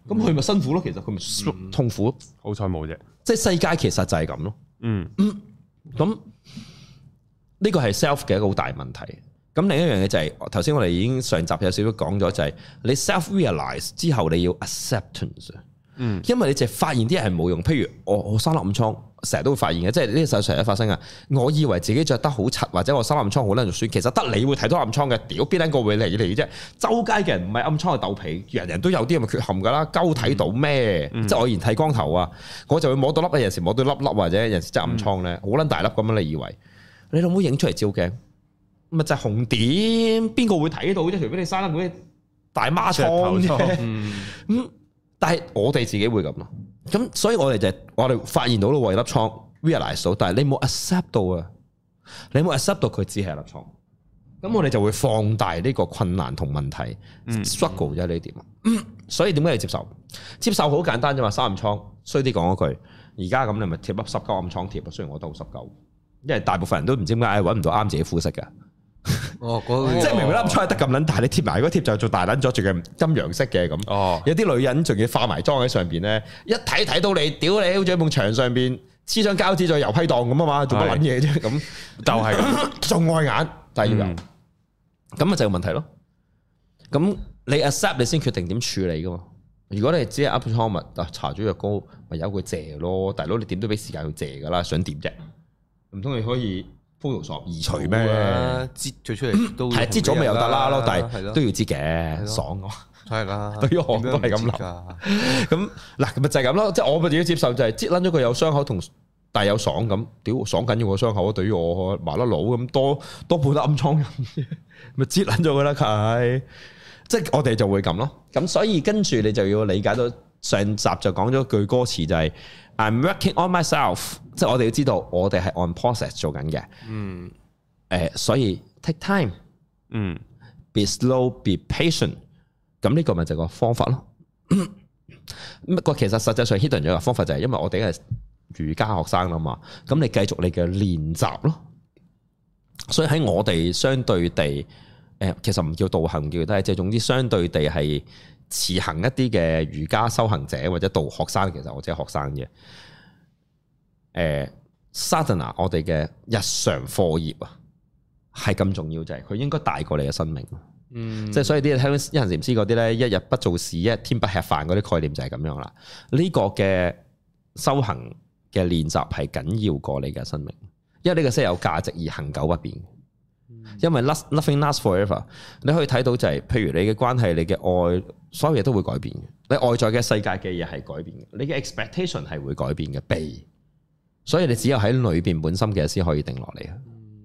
咁佢咪辛苦咯？其實佢咪痛苦。嗯、 好彩冇啫。 即係世界其實就係咁咯。 嗯， 咁呢個係 self 嘅一個好大問題。咁另一樣嘢就係頭先我哋已經上集有少少講咗，就係你 self realize 之後你要 acceptance。嗯，因為你就發現啲嘢係冇用。譬如我我生粒暗瘡，成日都會發現嘅，即係呢個世成日發生啊。我以為自己着得好柒，或者我生暗瘡好撚肉酸，其實得你會睇到暗瘡嘅。屌邊撚個會嚟嚟啫？周街嘅人唔係暗瘡係豆皮，人人都有啲咁嘅缺陷㗎啦。鳩睇到咩？嗯、即係我以前剃光頭啊，我就會摸到粒，有時摸到粒粒或者有時即係暗瘡咧，好撚、嗯、大粒咁樣。你以為你老母影出嚟照鏡，咪就係紅點？邊個會睇到啫？除非你生得嗰啲大孖瘡啫。嗯。但係我哋自己會咁咯，咁所以我哋就我哋發現到咯，為粒瘡 realize 到，但係你冇 accept 到啊，你冇 accept 到佢只係粒瘡，咁我哋就會放大呢個困難同問題、嗯、struggle 啫呢點，所以點解要接受？接受好簡單啫嘛，生暗瘡，衰啲講嗰句，而家咁你咪貼粒濕膠暗瘡貼，雖然我都好濕膠，因為大部分人都唔知點解揾唔到啱自己膚色嘅。 哦，那即係明明粒瘡係得咁撚大，你貼埋嗰貼就做大撚咗，仲係陰陽色嘅咁。哦，有啲女人仲要化埋妝喺上邊咧，一睇睇到你，屌你，好似喺埲牆上邊黐張膠紙，再油批檔咁啊嘛，做乜撚嘢啫？咁就係咁，仲礙眼，但係要有，咁啊就有問題咯。咁你 accept 你先決定點處理噶嘛？如果你只係 up 瘡物，啊搽咗藥膏，咪由佢謝咯。大佬你點都俾時間去謝噶啦，想點啫？唔通你可以？Photoshop 移除咩？ 擠咗出嚟都係擠咗咪又得啦咯，但係都要擠嘅，爽啊！ 係啦， 對於我都係咁諗。咁嗱，咪就係咁咯，即係我咪自己接受就係擠撚咗佢有傷口同但係有爽咁，屌爽緊要個傷口啊！對於我麻甩佬咁多多半粒暗瘡，咪擠撚咗佢啦，係即係我哋就會咁咯。咁所以跟住你就要理解到上集就講咗句歌詞就係。I'm working on myself， 即係我哋要知道，我哋係 on process 做緊嘅。嗯，誒，所以 take time，嗯 ，be slow，be patient。咁呢個咪就係個方法咯。不過其實實際上 hidden 咗個方法就係，因為我哋係瑜伽學生啦嘛。咁你繼續你嘅練習咯。所以喺我哋相對地，誒，其實唔叫道行，叫但係即係總之相對地係。持行一啲嘅瑜伽修行者或者道學生，其實我只係學生嘅。誒、呃、，sadhana 我哋嘅日常課業啊，係咁重要，就係佢應該大過你嘅生命。嗯，即係所以啲聽一行禪師嗰啲咧，一日不做事，一天不吃飯嗰啲概念就係咁樣啦。呢、這個嘅修行嘅練習係緊要過你嘅生命，因為呢個先有價值而恆久不變。因為 nothing lasts forever， 你可以睇到就係、是，譬如你嘅關係、你嘅愛，所有嘢都會改變嘅。你外在嘅世界嘅嘢係改變嘅，你嘅 expectation 係會改變嘅，被。所以你只有喺裏邊本身嘅先可以定落嚟啊。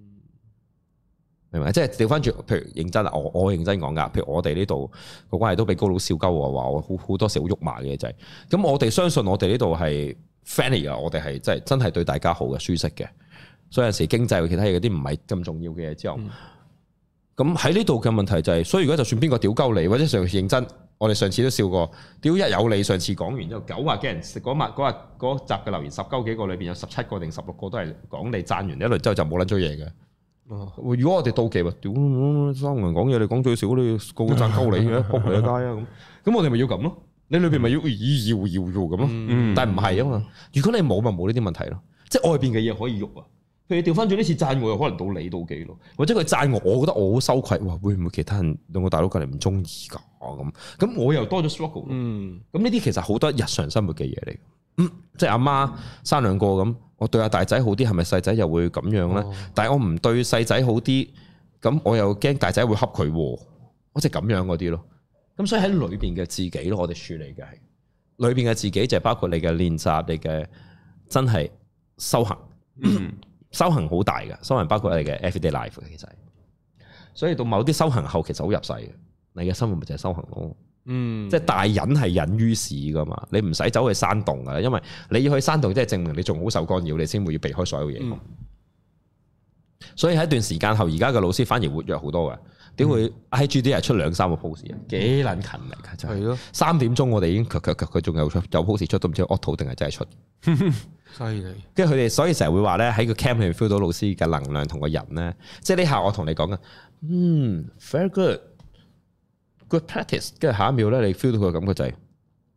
明唔明？即係調翻轉，譬如認真啊，我我認真講噶，譬如我哋呢度個關係都俾高佬笑鳩我話我好好多時好肉麻嘅就係、是，咁我哋相信我哋呢度係 friendly 啊，我哋係真係真係對大家好嘅、舒適嘅。所以有時經濟其他嘢嗰啲唔係咁重要嘅嘢之後，咁喺呢度嘅問題就係、是，所以如果就算邊個屌鳩你，或者上次認真，我哋上次都笑過，屌一有你，上次講完之後九啊幾人，嗰日嗰日嗰集嘅留言十鳩幾個裏邊有十七個定十六個都係講你讚完一輪之後就冇撚咗嘢嘅。哦、如果我哋妒忌喎，屌三個人講嘢，你講最少你個個讚鳩你嘅，仆你一街啊咁，咁我哋咪要咁咯？你裏邊咪要要要要咁咯？嗯、但係唔係啊嘛？如果你冇咪冇呢啲問題咯，即係外邊嘅嘢可以喐啊。佢調翻轉呢次讚我，又可能到你妒忌咯，或者佢讚我，我覺得我好羞愧，哇！會唔會其他人兩個大佬隔籬唔中意噶咁？咁我又多咗 struggle。嗯，咁呢啲其實好多日常生活嘅嘢嚟。嗯，即係阿媽生兩個咁，我對阿大仔好啲，係咪細仔又會咁樣咧？哦、但係我唔對細仔好啲，咁我又驚大仔會恰佢，我即係咁樣嗰啲咯。咁所以喺裏邊嘅自己咯，我哋處理嘅係裏邊嘅自己，就係包括你嘅練習，你嘅真係修行。嗯。修行好大嘅，修行包括你嘅 everyday life 嘅，其實，所以到某啲修行後，其實好入世嘅，你嘅生活咪就係修行咯。嗯，即係大隱係隱於市噶嘛，你唔使走去山洞噶，因為你要去山洞，即係證明你仲好受干擾，你先會要避開所有嘢。嗯、所以喺一段時間後，而家嘅老師反而活躍好多嘅，點會 I G 啲係出兩三個 post 啊？幾撚勤力噶真係。係咯，三點鐘我哋已經佢佢佢仲有出有 post 出，都唔知 auto 定係真係出。 犀利， 跟住佢哋，所以成日會話咧喺個 camp 裏面 feel 到老師嘅能量同個人咧，即係呢下我同你講嘅，嗯 very good good practice，跟住下一秒咧你 feel 到佢嘅感覺就係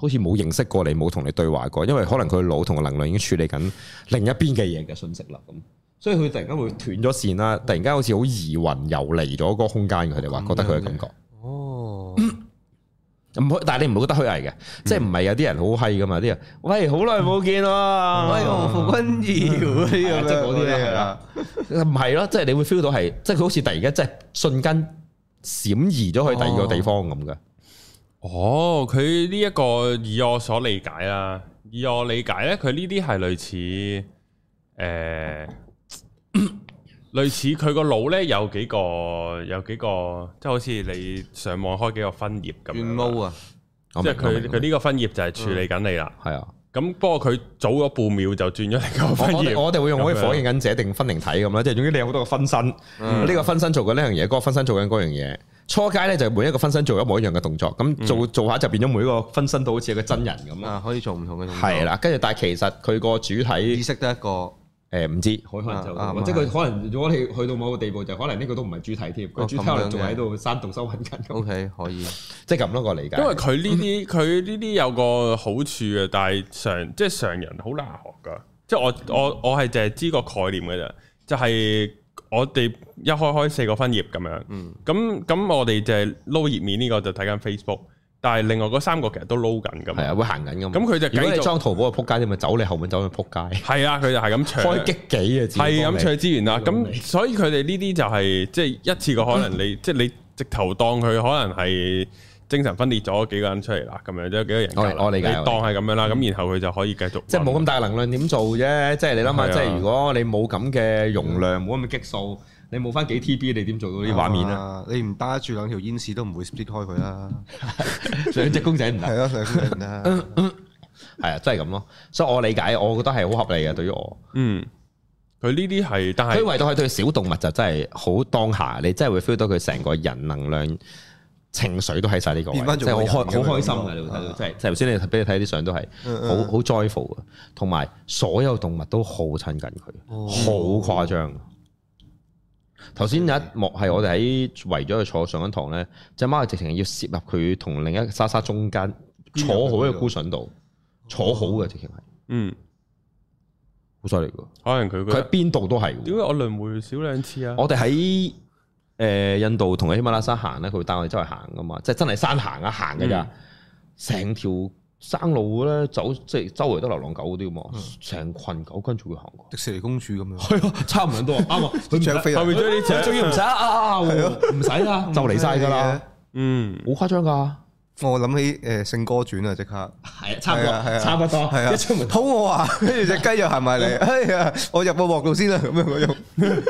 好似冇認識過你，冇同你對話過，因為可能佢腦同個能量已經處理緊另一邊嘅嘢嘅信息啦，咁所以佢突然間會斷咗線啦，突然間好似好移魂遊離咗嗰個空間，佢哋話覺得佢嘅感覺。哦，唔好，但係你唔會覺得虛偽嘅，嗯、即係唔係有啲人好閪噶嘛？啲人喂，好耐冇見咯，喂，我傅君堯嗰啲咁樣嗰啲咧係啦，唔係咯，即係你會 feel 到係，即係佢好似突然間即係瞬間閃移咗去第二個地方咁嘅。 哦，佢呢一個以我所理解啦，以我理解咧，佢呢啲係類似誒、呃，類似佢個腦咧有幾個有幾個，即係好似你上網開幾個分頁咁樣。毛啊！即係佢佢呢個分頁就係處理緊你啦。係、嗯、啊。咁不過佢早咗半秒就轉咗另一個分頁。我哋會用嗰啲火影忍者定分靈體咁啦，即係總之你有好多個分身，呢、嗯、個分身做緊呢樣嘢，嗰、嗰個分身做緊嗰樣嘢。初階咧就每一個分身做一模一樣嘅動作，咁做做下就變咗每一個分身都好似一個真人咁啊，可以做唔同嘅動作。係啦，跟住但係其實佢個主體意識得一個誒唔、呃、知，可能就、啊、即係佢可能如果你去到某個地步，就可能呢個都唔係主體添，佢、哦、主體可能仲喺度山洞修行緊。O、okay, K 可以，即係咁多個理解。因為佢呢啲佢呢啲有個好處嘅，但係常即係常人好難學噶。即係我我我係淨係知個概念嘅啫，就係、是。我哋一開開四個分頁咁樣，咁咁、嗯、我哋就係撈頁面呢個就睇緊 Facebook，但係另外嗰三個其實都撈緊噶嘛，係啊會行緊噶嘛。咁佢就如果你裝淘寶去撲街，你咪走你後面走去撲街。係啊，佢就係咁搶開激幾嘅資源，係咁搶資源啦。咁所以佢哋呢啲就係即係一次過可能你即係、嗯、你直頭當佢可能係精神分裂咗幾個人出嚟啦，咁樣即係幾個人格。我理解，你當係咁樣啦，咁、嗯、然後佢就可以繼續。即係冇咁大能量點做啫？即係你諗下，即係如果你冇咁嘅容量，冇咁嘅激素，你冇翻幾 T B， 你點做到啲畫面啊？你唔搭住兩條煙絲都唔會 split 開佢啦。兩隻公仔唔得。係咯，兩隻公仔唔得。係啊，真係咁咯。所以我理解，我覺得係好合理嘅。對於我，嗯，佢呢啲係，但係佢唯獨係對小動物就真係好當下，你真係會 feel 到佢成個人能量。情緒都喺晒呢個位，即係好開好開心嘅，你會睇到，即係即係頭先你俾你睇啲相都係好好 joyful 嘅，同埋所有動物都好親近佢，好誇張。頭先有一幕係我哋喺圍咗佢坐上緊堂咧，隻貓係直情要攝入佢同另一莎莎中間，坐好喺個 cushion度，坐好嘅直情係，嗯，好犀利㗎。可能佢佢喺邊度都係。點解我輪迴少兩次啊？我哋喺。誒印度同喺喜馬拉雅山行咧，佢會帶我哋周圍行噶嘛，即係真係山行啊行嘅咋，成、嗯、條山路咧走，即係周圍都流浪狗嗰啲嘛，成、嗯、群狗跟住佢行過。迪士尼公主咁樣，係啊，差唔多，啱啊，佢搶飛啊，後面追啲搶，仲要唔使啊，唔使啊，就嚟晒㗎啦，嗯，好誇張㗎。我諗起誒聖歌傳啊，即刻係啊，差唔多，係啊，差唔多，係啊，一出門肚餓啊，跟住隻雞又行埋嚟，哎呀，我入個鑊度先啦，咁樣嗰種。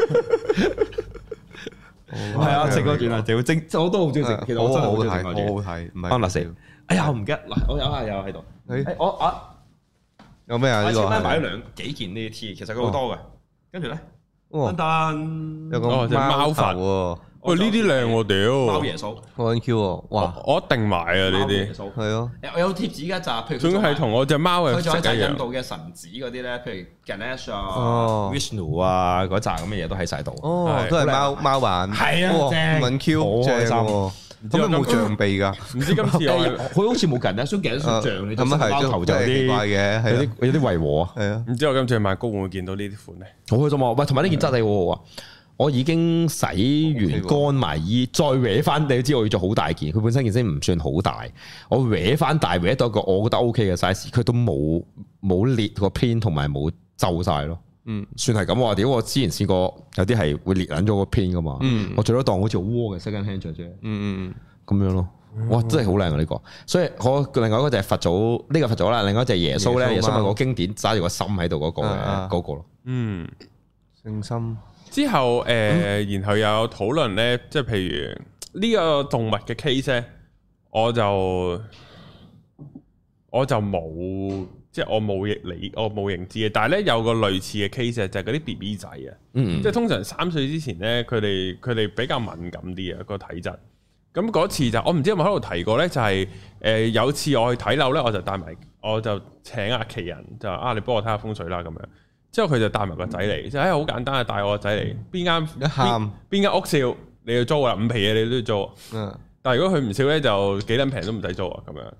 係啊，食嗰段啊，就精，我都好中意食。其實我真係好睇，好好睇。唔係安樂死。哎呀，我唔記得嗱，我有啊，有喺度。誒，我啊，有咩啊？呢個係買咗兩幾件呢啲 T，其實佢好多嘅。跟住咧，丹丹有個貓佛喎。喂，呢啲靚喎，屌！貓耶穌，好 Q 喎，哇！我一定買啊呢啲。係咯。我有貼紙㗎咋，譬如仲要係同我隻貓嘅。佢仲有就係印度嘅神子嗰啲咧，譬如 Ganesh 啊、Vishnu 啊嗰扎咁嘅嘢都喺晒度。哦，都係貓貓版。係啊，正。Q，好開心。咁有冇象鼻㗎？唔知今次佢好似冇 Ganesh，所以 Ganesh 象你咁啊係，貓頭就有啲怪嘅，有啲有啲違和啊。係啊。唔知我今次買高會唔會見到呢啲款咧？好開心啊！喂，同埋呢件質地好好啊。我已經洗完乾埋衣，再搲翻，你都知我要做好大件。佢本身件衫唔算好大，我搲翻大搲到一個我覺得 O K 嘅 size，佢都冇冇裂個偏同埋冇皺晒咯。嗯，算係咁話。屌，我之前試過有啲係會裂緊咗個偏噶嘛。嗯，我最多當好似好窩嘅 second hand 着啫。嗯嗯嗯，咁樣咯。哇，真係好靚啊呢個。所以我另外一個就係佛祖，呢、這個佛祖啦。另外一隻耶穌咧，耶穌咪個經典揸住個心喺度嗰個嘅嗰個咯。嗯，聖心。之後誒，呃嗯、然後又有討論咧，即係譬如呢個動物嘅 case 咧，我就我就冇，即係我冇認理，我冇認知嘅。但係咧有個類似嘅 case 就係嗰啲 B B 仔啊，嗯、即係通常三歲之前咧，佢哋佢哋比較敏感啲啊個體質。咁嗰次就我唔知有冇喺度提過咧，就係、是、誒、呃、有次我去睇樓咧，我就帶埋，我就請阿奇人就啊，你幫我睇下風水啦咁樣。之後佢就帶埋個仔嚟，就係好簡單啊！帶我個仔嚟，邊間邊邊間屋少你要租啊，五皮嘢你都要租。嗯，但係如果佢唔少咧，就幾撚平都唔使租啊，咁樣。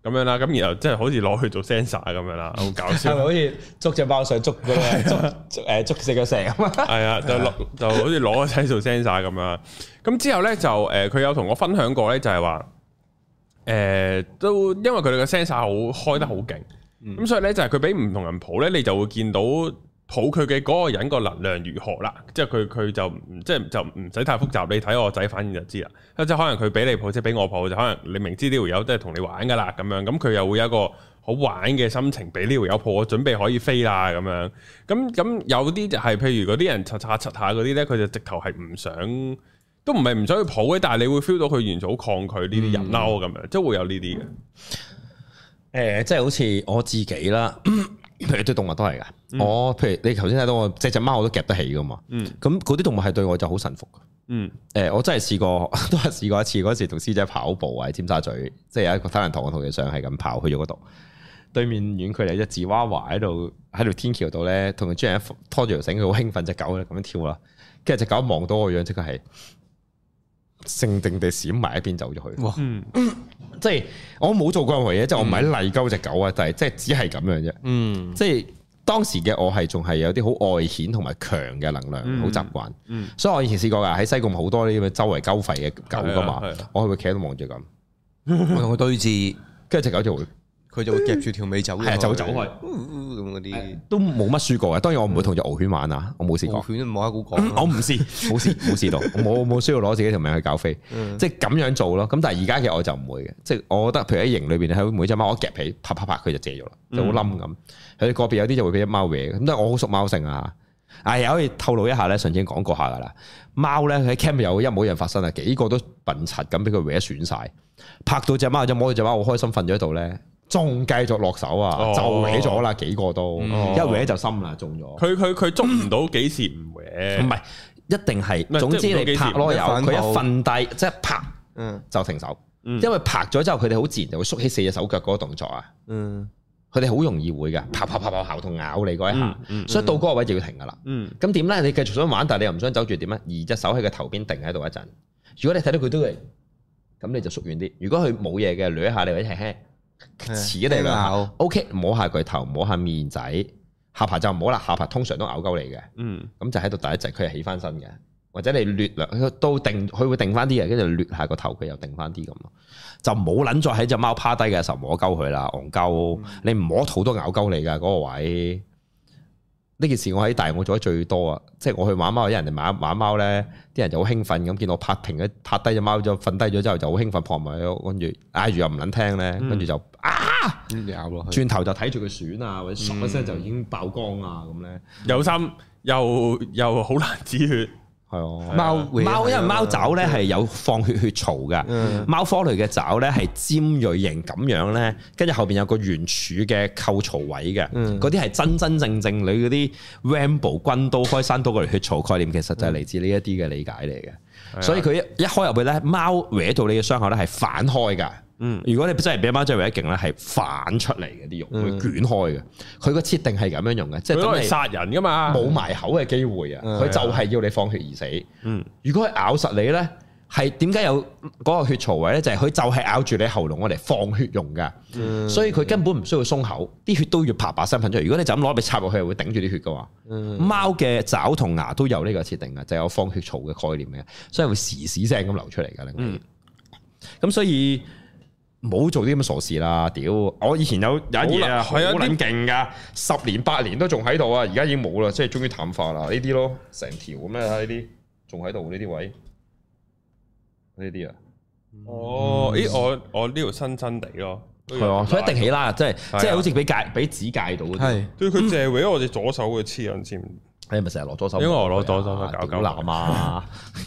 咁樣啦，咁然後即係好似攞去做 sensor 咁樣啦，好搞笑。 係咪好似捉隻貓上捉嗰個捉誒捉食個蛇咁啊？係啊，就攞就好似攞個仔做 sensor 咁樣。咁之後咧就誒，佢、呃、有同我分享過咧，就係話誒都因為佢哋個 sensor 好開得好勁，咁、嗯、所以咧就係佢俾唔同人抱咧，你就會見到抱佢嘅嗰個人個能量如何啦。即係佢佢就即係就唔使太複雜，你睇我仔反應就知啦。即係可能佢俾你抱，即係俾我抱，就可能你明知呢條友都係同你玩噶啦咁樣，咁佢又會有一個好玩嘅心情，俾呢條友抱，我準備可以飛啦咁樣。咁咁有啲就係、是、譬如嗰啲人擦擦擦下嗰啲咧，佢就直頭係唔想，都唔係唔想去抱嘅，但係你會 feel 到佢完全好抗拒呢啲人嬲咁樣，即係會有呢啲嘅。誒、 呃，即係好似我自己啦。譬如對動物都係噶，嗯、我譬如你頭先睇到我隻隻貓我都夾得起噶嘛，咁嗰啲動物係對我就好臣服。嗯，誒、呃，我真係試過，都係試過一次，嗰時同師姐跑步喺尖沙咀，即係有一個體能堂，我同佢上係咁跑去咗嗰度，對面遠距離隻芝娃娃喺度喺條天橋度咧，同佢主人拖住條繩，佢好興奮，隻狗咧咁樣跳啦，跟住隻狗望到我樣，即刻係靜定地閃埋一邊走咗去。哇，嗯，即係我冇做過任何嘢，即係我唔係嚟鳩隻狗啊，但係即係只係咁樣啫。嗯，即係當時嘅我係仲係有啲好外顯同埋強嘅能量，好習慣。嗯，所以我以前試過噶，喺西貢好多呢啲周圍鳩吠嘅狗噶嘛，我係會企喺度望住咁， 我同佢對峙， 跟住隻狗就會。 佢就會夾住條尾走， 係就會走開咁嗰啲， 都冇乜輸過嘅。當然我唔會同隻獒犬玩啊，我冇試過。 獒犬都冇得好講， 我唔試，冇試冇試到，我冇冇需要攞自己條命去搞飛，即係咁樣做咯。咁但係而家嘅我就唔會嘅，即係我覺得，譬如喺營裏邊喺每隻貓我夾起啪啪啪佢就借咗啦，就好冧咁。佢哋個別有啲就會俾隻貓搲嘅，咁但係我好熟貓性啊。啊，又可以透露一下咧，上次已經講過下噶啦。貓咧喺 camp 有一模一樣發生啊，幾個都笨柒咁俾佢搲損晒，拍到隻貓就摸到隻貓好開心瞓咗喺度咧。仲繼續落手啊，哦、就搲咗啦，幾個都、哦、一搲就深啦，中咗。佢佢佢捉唔到幾時唔搲？唔係、嗯、一定係，嗯、總之你拍咯，有佢一瞓低，即係拍，嗯，就停手。嗯、因為拍咗之後，佢哋好自然就會縮起四隻手腳嗰個動作啊。嗯，佢哋好容易會嘅，拍拍拍拍，咬痛咬你嗰一下，嗯嗯、所以到嗰個位就要停噶啦。嗯，咁點咧？你繼續想玩，但係你又唔想走住點咧？移隻手喺個頭邊定喺度一陣。如果你睇到佢都係，咁你就縮遠啲。如果佢冇嘢嘅，捋一下你或者輕輕。似嚟啦，OK， 摸下佢頭，摸下面仔，下巴就唔好啦，下巴通常都咬鳩你嘅，嗯，咁就喺度第一隻，佢係起翻身嘅，或者你掠略都定，佢會定翻啲嘅，跟住掠下個頭，佢又定翻啲咁咯，就唔好捻再喺隻貓趴低嘅時候摸鳩佢啦，戇鳩，嗯、你唔摸肚都咬鳩你噶嗰、那個位。呢件事我喺大澳做得最多啊！即係我去玩貓，有人哋玩玩貓咧，啲人就好興奮咁，見我拍停咗，拍低隻貓就瞓低咗之後就好興奮撲埋去，跟住嗌住又唔撚聽咧，跟住就啊咬落去，轉頭就睇住佢損啊，或者唰一聲就已經爆光啊咁咧，有心又又好難止血。係啊，貓貓因為貓爪咧係有放血血槽嘅，貓科類嘅爪咧係尖銳型咁樣咧，跟住後邊有個圓柱嘅扣槽位嘅，嗰啲係真真正正你嗰啲 Rambo 軍刀開山刀嗰條血槽概念，其實就係嚟自呢一啲嘅理解嚟嘅。嗯、所以佢一一開入去咧，貓搲到你嘅傷口咧係反開噶。嗯，如果你真係俾貓真係搲得勁咧，係反出嚟嘅啲肉會捲開嘅。佢個設定係咁樣用嘅，即係都係殺人噶嘛，冇埋口嘅機會啊。佢、嗯、就係要你放血而死。嗯，如果佢咬實你咧，係點解有嗰個血槽位咧？就係、是、佢就係咬住你喉嚨，我嚟放血用噶。嗯、所以佢根本唔需要鬆口，啲血都要啪啪聲噴出嚟。如果你就咁攞嚟插落去，會頂住啲血噶嘛。嗯、貓嘅爪同牙都有呢個設定嘅，就係、有放血槽嘅概念嘅，所以會時時聲咁流出嚟噶。嗯，咁所以。唔好做啲咁傻事啦！屌，我以前有有一嘢啊，好撚勁噶，十年八年都仲喺度啊，而家已經冇啦，即係終於淡化啦。呢啲咯，成條咁啊，呢啲仲喺度呢啲位，呢啲啊。哦，咦，我我呢條新新地咯，係啊，佢一定起啦，即係即係好似俾戒俾指戒到嗰啲。係，對佢淨係搲我哋左手嘅黐緊線。你咪成日攞左手，因為我攞左手搞搞男啊！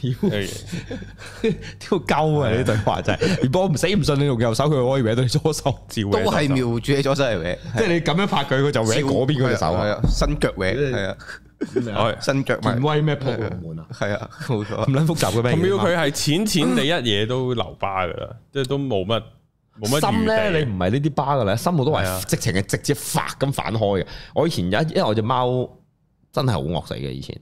挑鳩啊！呢對話真係，如果我唔死唔信你用右手，佢可以搲到你左手，照都係瞄住你左手嚟搲。即係你咁樣拍佢，佢就搲嗰邊嗰隻手啊！伸腳搲，係啊，伸腳咪威咩撲門啊？係啊，冇錯，咁撚複雜嘅咩？同佢係淺淺地一嘢都留疤噶啦，即係都冇乜冇乜。心咧，你唔係呢啲疤噶啦，心我都係直情係直接發咁反開嘅。我以前有一，因為我隻貓。真係好惡死嘅，以前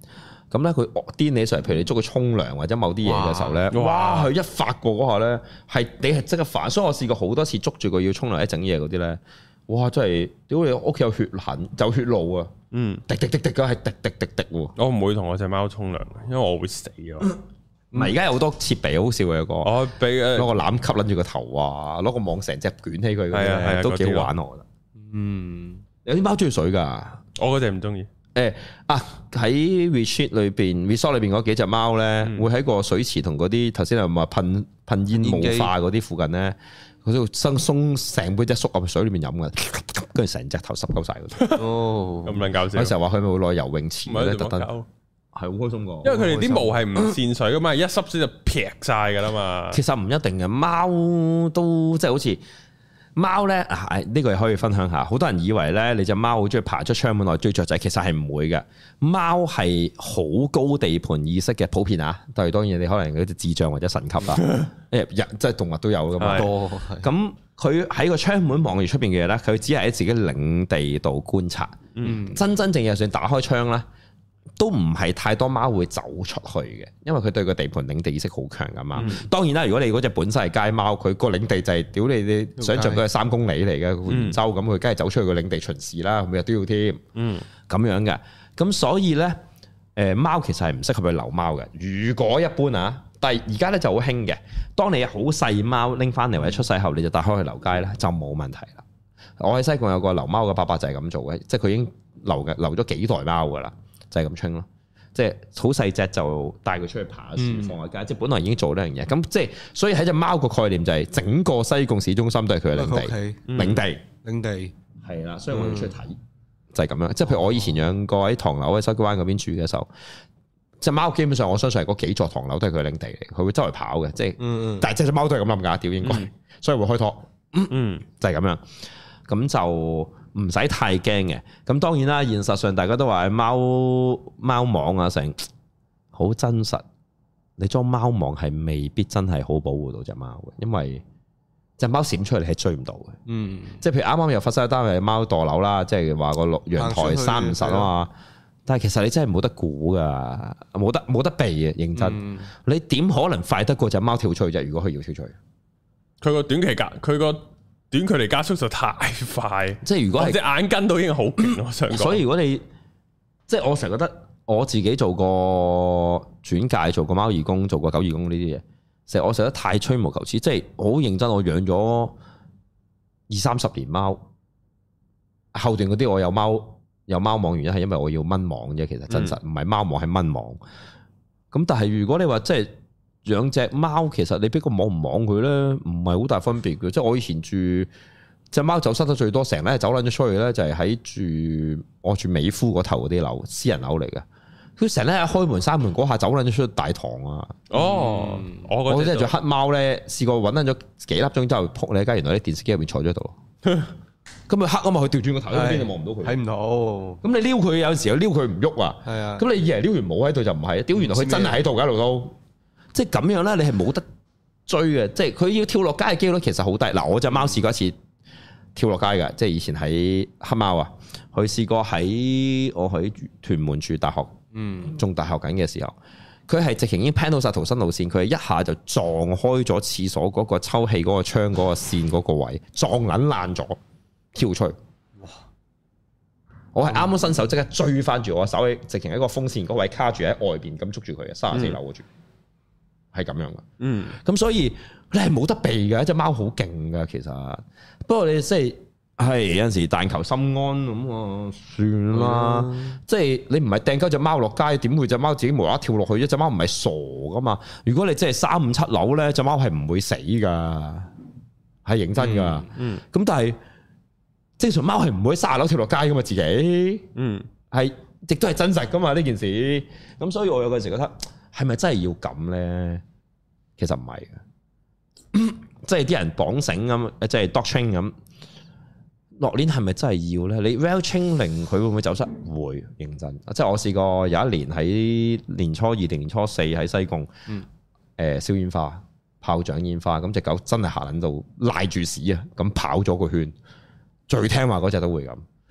咁咧佢癲起上嚟，譬如你捉佢沖涼或者某啲嘢嘅時候咧，哇！佢一發過嗰下咧，係你係即刻煩。所以我試過好多次捉住佢要沖涼一整嘢嗰啲咧，哇！真係屌你屋企有血痕，有血路啊！嗯，滴滴滴滴嘅係滴滴滴滴喎。 我唔會同我隻貓沖涼，因為我會死啊。 唔係而家有好多設備好笑嘅有個， 我俾攞個籃吸撚住個頭啊，攞個網成隻捲起佢嗰啲都幾好玩我覺得。嗯，有啲貓中意水㗎， 我嗰隻唔中意。 誒啊！喺 retreat 裏邊 resort 裏邊嗰幾隻貓咧，會喺個水池同嗰啲頭先係咪噴噴煙霧化嗰啲附近咧，佢都生鬆成杯隻縮入水裏面飲嘅，跟住成隻頭濕鳩晒嗰啲。哦，咁撚搞笑！有時候話佢咪會落游泳池咧，特登係好開心㗎。因為佢哋啲毛係唔滲水㗎嘛，一濕水就劈晒㗎啦嘛。其實唔一定嘅，貓都即係好似。貓咧啊，呢個又可以分享下。好多人以為咧，你隻貓好中意爬出窗門內追雀仔，其實係唔會嘅。貓係好高地盤意識嘅，普遍啊。但係當然你可能嗰啲智障或者神級啦，誒人即係動物都有噶嘛。多咁佢喺個窗門望住出邊嘅嘢咧，佢只係喺自己領地度觀察。嗯，真真正正就算打開窗咧，都唔係太多貓會走出去嘅，因為佢對個地盤領地意識好強噶嘛。嗯、當然啦，如果你嗰隻本身係街貓，佢個領地就係屌你你想象佢係三公里嚟嘅圓周咁，佢梗係走出去個領地巡視啦，每日都要添。嗯，咁樣嘅，咁所以咧，誒貓其實係唔適合去留貓嘅。如果一般啊，但係而家咧就好興嘅，當你好細貓拎翻嚟或者出世後，你就帶開去留街咧，就冇問題啦。我喺西貢有個留貓嘅伯伯就係咁做嘅，即係佢已經留嘅留咗幾代貓噶啦。就係咁清咯，即係好細隻就帶佢出去爬樹放下街，嗯、即係本來已經做呢樣嘢。咁即係所以喺隻貓個概念就係整個西貢市中心都係佢嘅領地，嗯、領地，領地係啦。所以我要出去睇，嗯、就係咁樣。即係譬如我以前養過喺唐樓喺筲箕灣嗰邊住嘅時候，隻貓基本上我相信係嗰幾座唐樓都係佢嘅領地嚟，佢會周圍跑嘅。即係，嗯、但係隻隻貓都係咁諗㗎，屌應該，嗯、所以會開拖，嗯，嗯就係咁樣。咁就。唔使太驚嘅，咁當然啦。現實上大家都話貓貓網啊，成好真實。你裝貓網係未必真係好保護到隻貓嘅，因為隻貓閃出嚟係追唔到嘅。嗯，即係譬如啱啱又發生一單係貓墮樓啦，即係話個陽台閂唔實啊嘛。但係其實你真係冇得估噶，冇得冇得避嘅，認真。嗯、你點可能快得過隻貓跳出去啫？如果佢要跳出去，佢個短期格，佢個。短距離加速就太快，即係如果係隻眼跟到已經好勁，我想講。所以如果你即係我成日覺得我自己做過轉介，做過貓義工，做過狗義工呢啲嘢，成日我成日太吹毛求疵，即係好認真。我養咗二三十年貓，後段嗰啲我有貓有貓網，原因係因為我要蚊網啫。其實真實唔係貓網，係蚊網。咁但係如果你話即係。養隻貓其實你俾個網唔網佢咧，唔係好大分別嘅。即係我以前住隻貓走失得最多，成日走撚咗出去咧，就係喺住我住美孚嗰頭嗰啲樓，私人樓嚟嘅。佢成日咧開門閂門嗰下走撚咗出去大堂啊！哦，嗯、我嗰隻做黑貓咧，試過揾撚咗幾粒鐘之後撲你一街，原來喺電視機入邊坐咗喺度。咁咪黑啊嘛，佢調轉個頭喺邊就望唔到佢，睇唔到。咁你撩佢有陣時候撩佢唔喐啊。係啊。咁你以為撩完冇喺度就唔係，屌原來佢真係喺度㗎，一路都。即係咁樣咧，你係冇得追嘅。即係佢要跳落街嘅機率其實好低。嗱，我隻貓試過一次跳落街嘅，即係以前喺黑貓啊，佢試過喺我喺屯門住大學，嗯，仲大學緊嘅時候，佢係直情已經 plan 到晒逃生路線，佢係一下就撞開咗廁所嗰個抽氣嗰個窗嗰個線嗰個位，撞撚爛咗，跳出去。哇！我係啱啱伸手即刻追翻住我手，直情喺個風扇嗰位卡住喺外邊咁捉住佢嘅，三十四樓嗰住。係咁樣嘅，嗯，咁所以你係冇得避嘅，隻貓好勁嘅其實。不過你即係係有陣時但求心安咁啊，算啦。嗯、即係你唔係掟鳩隻貓落街，點會隻貓自己無啦啦跳落去？一隻貓唔係傻噶嘛。如果你真係三五七樓咧，隻貓係唔會死噶，係認真噶。咁、嗯嗯、但係正常貓係唔會喺卅樓跳落街噶嘛，自己，嗯，係亦都係真實噶嘛呢件事。咁所以我有陣時覺得。係咪真係要咁咧？其實唔係嘅，即係啲人綁繩咁，即係 dog train 咁。落鏈係咪真係要咧？你 well training 佢會唔會走失？會認真。即係我試過有一年喺年初二定年初四喺西貢，嗯，誒燒煙花、炮仗煙花，咁隻狗真係行喺度賴住屎啊！咁跑咗個圈，最聽話嗰隻都會咁。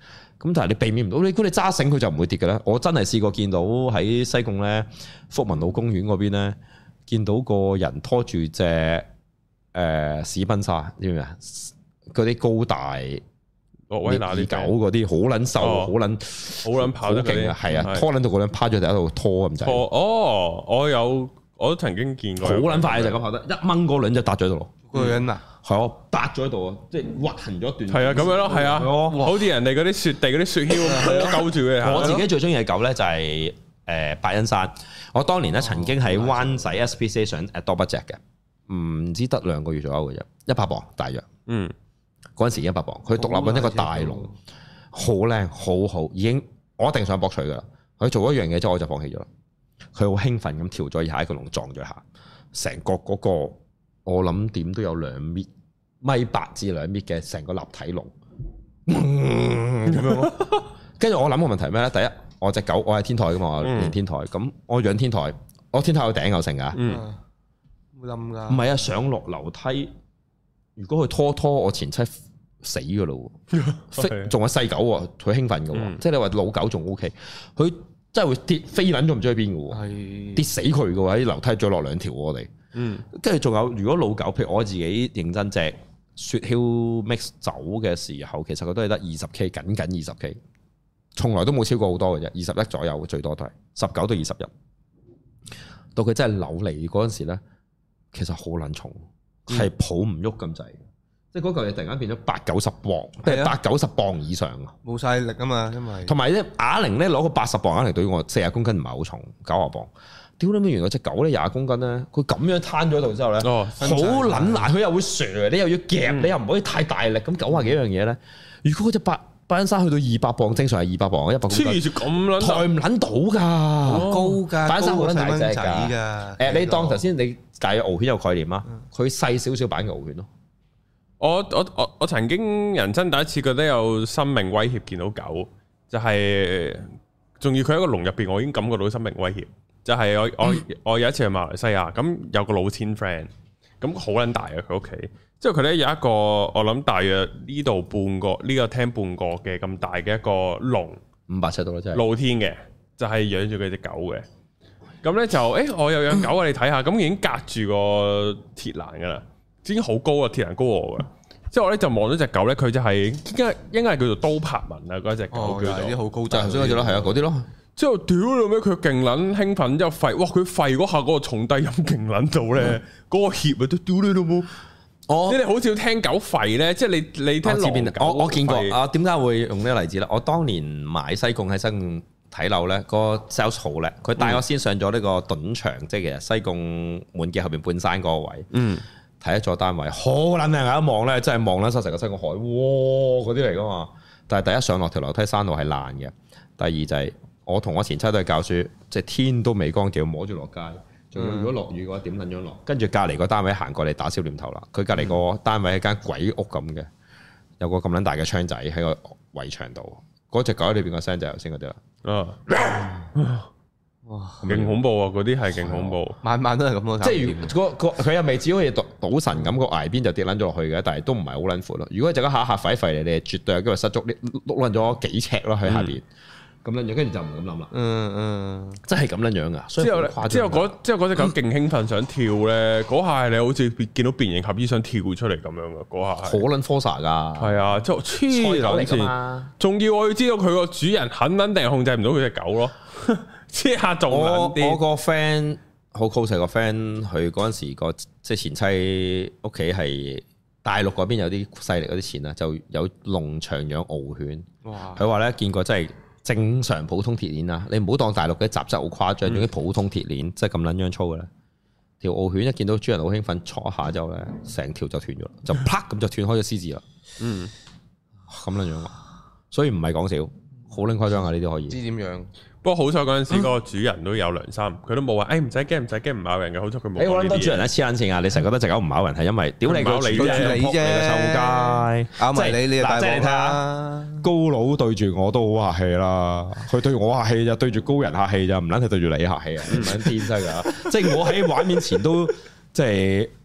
咁但係你避免唔到，你如果你揸繩佢就唔會跌嘅咧。我真係試過見到喺西貢咧福民路公園嗰邊咧，見到個人拖住隻誒史賓沙，知唔知啊？嗰啲高大諾威拿啲狗嗰啲，好撚瘦，好撚好撚跑得勁啊！ 係啊，拖撚到個撚趴咗喺度拖咁滯。 哦，我有我都曾經見過， 好撚快就咁跑得，一掹個輪就搭咗喺度咯。 嗰個人啊， 係我搭咗喺度啊，即係滑行咗一段。 係啊，咁樣咯，係啊，好似人哋嗰啲雪地嗰啲雪橇咁勾住嘅。 我自己最中意嘅狗咧就係誒伯恩山。我當年咧曾經喺灣仔 S P C A 想 adopt 一隻嘅，唔知得兩個月左右嘅啫，一百磅大約。嗯，嗰陣時一百磅，佢獨立緊一個大籠，好靚，好好，已經我一定想博取噶啦。佢做一樣嘢之後我就放棄咗啦。佢好興奮咁跳咗以下一個籠撞咗下，成個嗰個。我諗點都有兩米米八至兩米嘅成個立體籠，咁樣咯。跟住我諗個問題咩咧？第一，我隻狗我係天台噶嘛，我練天台，咁我養天台，我天台有頂有成噶， 會冧噶。 唔係啊，上落樓梯，如果佢拖拖我前妻死噶咯，仲有細狗喎，佢興奮噶，嗯、即係你話老狗仲 O K，佢真係會跌飛撚咗唔知去邊噶，是跌死佢噶喎，喺樓梯再落兩條我哋。嗯，跟住仲有，如果老狗，譬如我自己認真隻雪橇 mix 走嘅時候，其實佢都係得二十 K，僅僅二十 K，從來都冇超過好多嘅啫，二十一左右，最多都係十九到二十一。到佢真係扭嚟嗰陣時咧，其實好撚重，係、嗯、抱唔喐咁滯，即係嗰嚿嘢突然間變咗八九十磅，即係八九十磅以上啊！ 冇晒力啊嘛，因為同埋咧啞鈴咧攞個八十磅啞鈴對我四十公斤唔係好重，九十磅。屌你咩？原來隻狗咧廿公斤咧，佢咁樣攤咗喺度之後咧，好撚難，佢又會蛇，你又要夾，嗯、你又唔可以太大力，咁九廿幾樣嘢咧。如果嗰隻白白恩山去到二百磅，正常係二百磅，一百公斤，黐住咁撚抬唔撚到㗎，好高㗎，白恩山好撚大隻㗎。誒，你當頭先你大約獒犬有概念啊？佢細少少版嘅獒犬咯。 我我我我曾經人生第一次覺得有生命威脅，見到狗就係仲要佢喺個籠入邊，我已經感覺到生命威脅。就係我我我有一次去馬來西亞，咁有個老千 friend，咁好撚大嘅佢屋企，之後佢咧有一個我諗大約呢度半個呢、呢個廳半個嘅咁大嘅一個籠， 五百尺度啦，真係露天嘅，就係、是、養住佢隻狗嘅。咁咧就誒、欸，我又養狗啊，你睇下，咁已經隔住個鐵欄噶啦，已經好高啊，鐵欄高我噶。之後我咧就望到隻狗咧，佢就係應該應該係叫做刀柏紋啊，嗰隻狗叫做啲好高質， 頭先嗰隻咯，係啊，嗰啲咯。 之後屌你咩？佢勁撚興奮，之後吠，哇！佢吠嗰下嗰個重低音勁撚到咧，嗰、嗯、個怯啊都屌你老母！哦，即係你好少聽狗吠咧，即係你你聽狼狗。我我見過啊，點解會用呢個例子咧？我當年買西貢喺西貢睇樓咧，個 sales 好叻，佢帶我先上咗呢個盾牆，嗯、即係其實西貢滿記後邊半山嗰個位，嗯，睇一座單位好撚靚啊！一望咧，真係望撚晒成個西貢海，哇！嗰啲嚟噶嘛。但係第一上落條樓梯山路係爛嘅，第二就係、是。我同我前妻都係教書，即係天都未光，叫摸住落街。仲要如果落雨嘅話，點撚樣落？跟住隔離個單位行過嚟打消念頭啦。佢隔離個單位係間鬼屋咁嘅，有個咁撚大嘅窗仔喺個圍牆度。嗰隻狗喺裏邊個聲就係頭先嗰啲啦。啊！哇！勁恐怖啊！嗰啲係勁恐怖， 晚晚都係咁咯。 即係如果佢又未至於好似賭神咁個崖邊就跌撚咗落去嘅，但係都唔係好撚闊咯。如果就咁下下吠吠嚟，你係絕對有機會失足，你碌撚咗幾尺咯喺下邊。咁樣樣，跟住就唔咁諗啦。嗯嗯，真係咁樣樣噶。之後咧， 之後嗰之後嗰隻狗勁興奮想跳咧，嗰下係你好似見到變形俠醫想跳出嚟咁樣噶。嗰下係好撚 force 噶。 係啊，之後黐撚線。仲要我要知道佢個主人肯肯定控制唔到佢隻狗咯。黐下仲撚啲。 我個 friend 好 close 個 friend，佢嗰陣時個即係前妻屋企係大陸嗰邊有啲勢力嗰啲錢啊，就有農場養獒犬。哇！佢話咧見過真係。正常普通鐵鏈啊，你唔好當大陸嘅雜質好誇張，用啲、嗯、普通鐵鏈，即係咁撚樣粗嘅咧。條獒犬一見到主人好興奮，戳一下之後咧，成條就斷咗，就啪咁就斷開咗獅子啦。嗯，咁撚樣，所以唔係講笑，好撚誇張啊！呢啲可以。 知點樣？ 不過好彩嗰陣時個主人都有良心，佢都冇話，誒唔使驚唔使驚唔咬人嘅，好彩佢冇。 誒我諗多主人咧黐撚線啊！你成日覺得隻狗唔咬人係因為屌你個主人撲你個臭街，咬埋你你大鑊啦！高佬對住我都好客氣啦，佢對我客氣就對住高人客氣就唔撚係對住你客氣啊！唔撚天真㗎，即係我喺畫面前都即係唔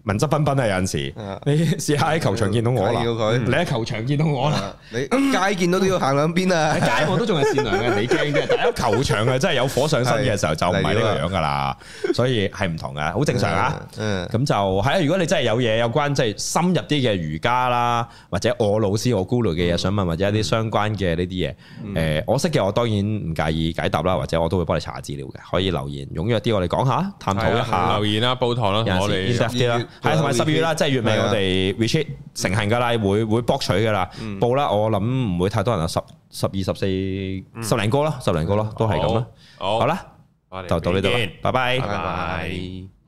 文質彬彬啊！有陣時，你試下喺球場見到我啦，你喺球場見到我啦， 你街見到都要行兩邊啊！ 喺街我都仲係善良嘅，你驚嘅，但係喺球場啊，真係有火上身嘅時候就唔係呢個樣噶啦，所以係唔同嘅，好正常啊。咁就係啊，如果你真係有嘢有關即係深入啲嘅瑜伽啦，或者我老師我 Guru 嘅嘢想問，或者一啲相關嘅呢啲嘢，誒我識嘅我當然唔介意解答啦，或者我都會幫你查下資料嘅，可以留言踴躍啲，我哋講下探討一下， 留言啦，煲堂啦，我哋啲啦。係，同埋十月啦，即係月尾我哋 retreat 成行噶啦，會會博取噶啦，報啦，我諗唔會太多人啊，十十二十四十零個啦，十零個咯，都係咁啦。好啦，就到呢度啦，拜拜，拜拜。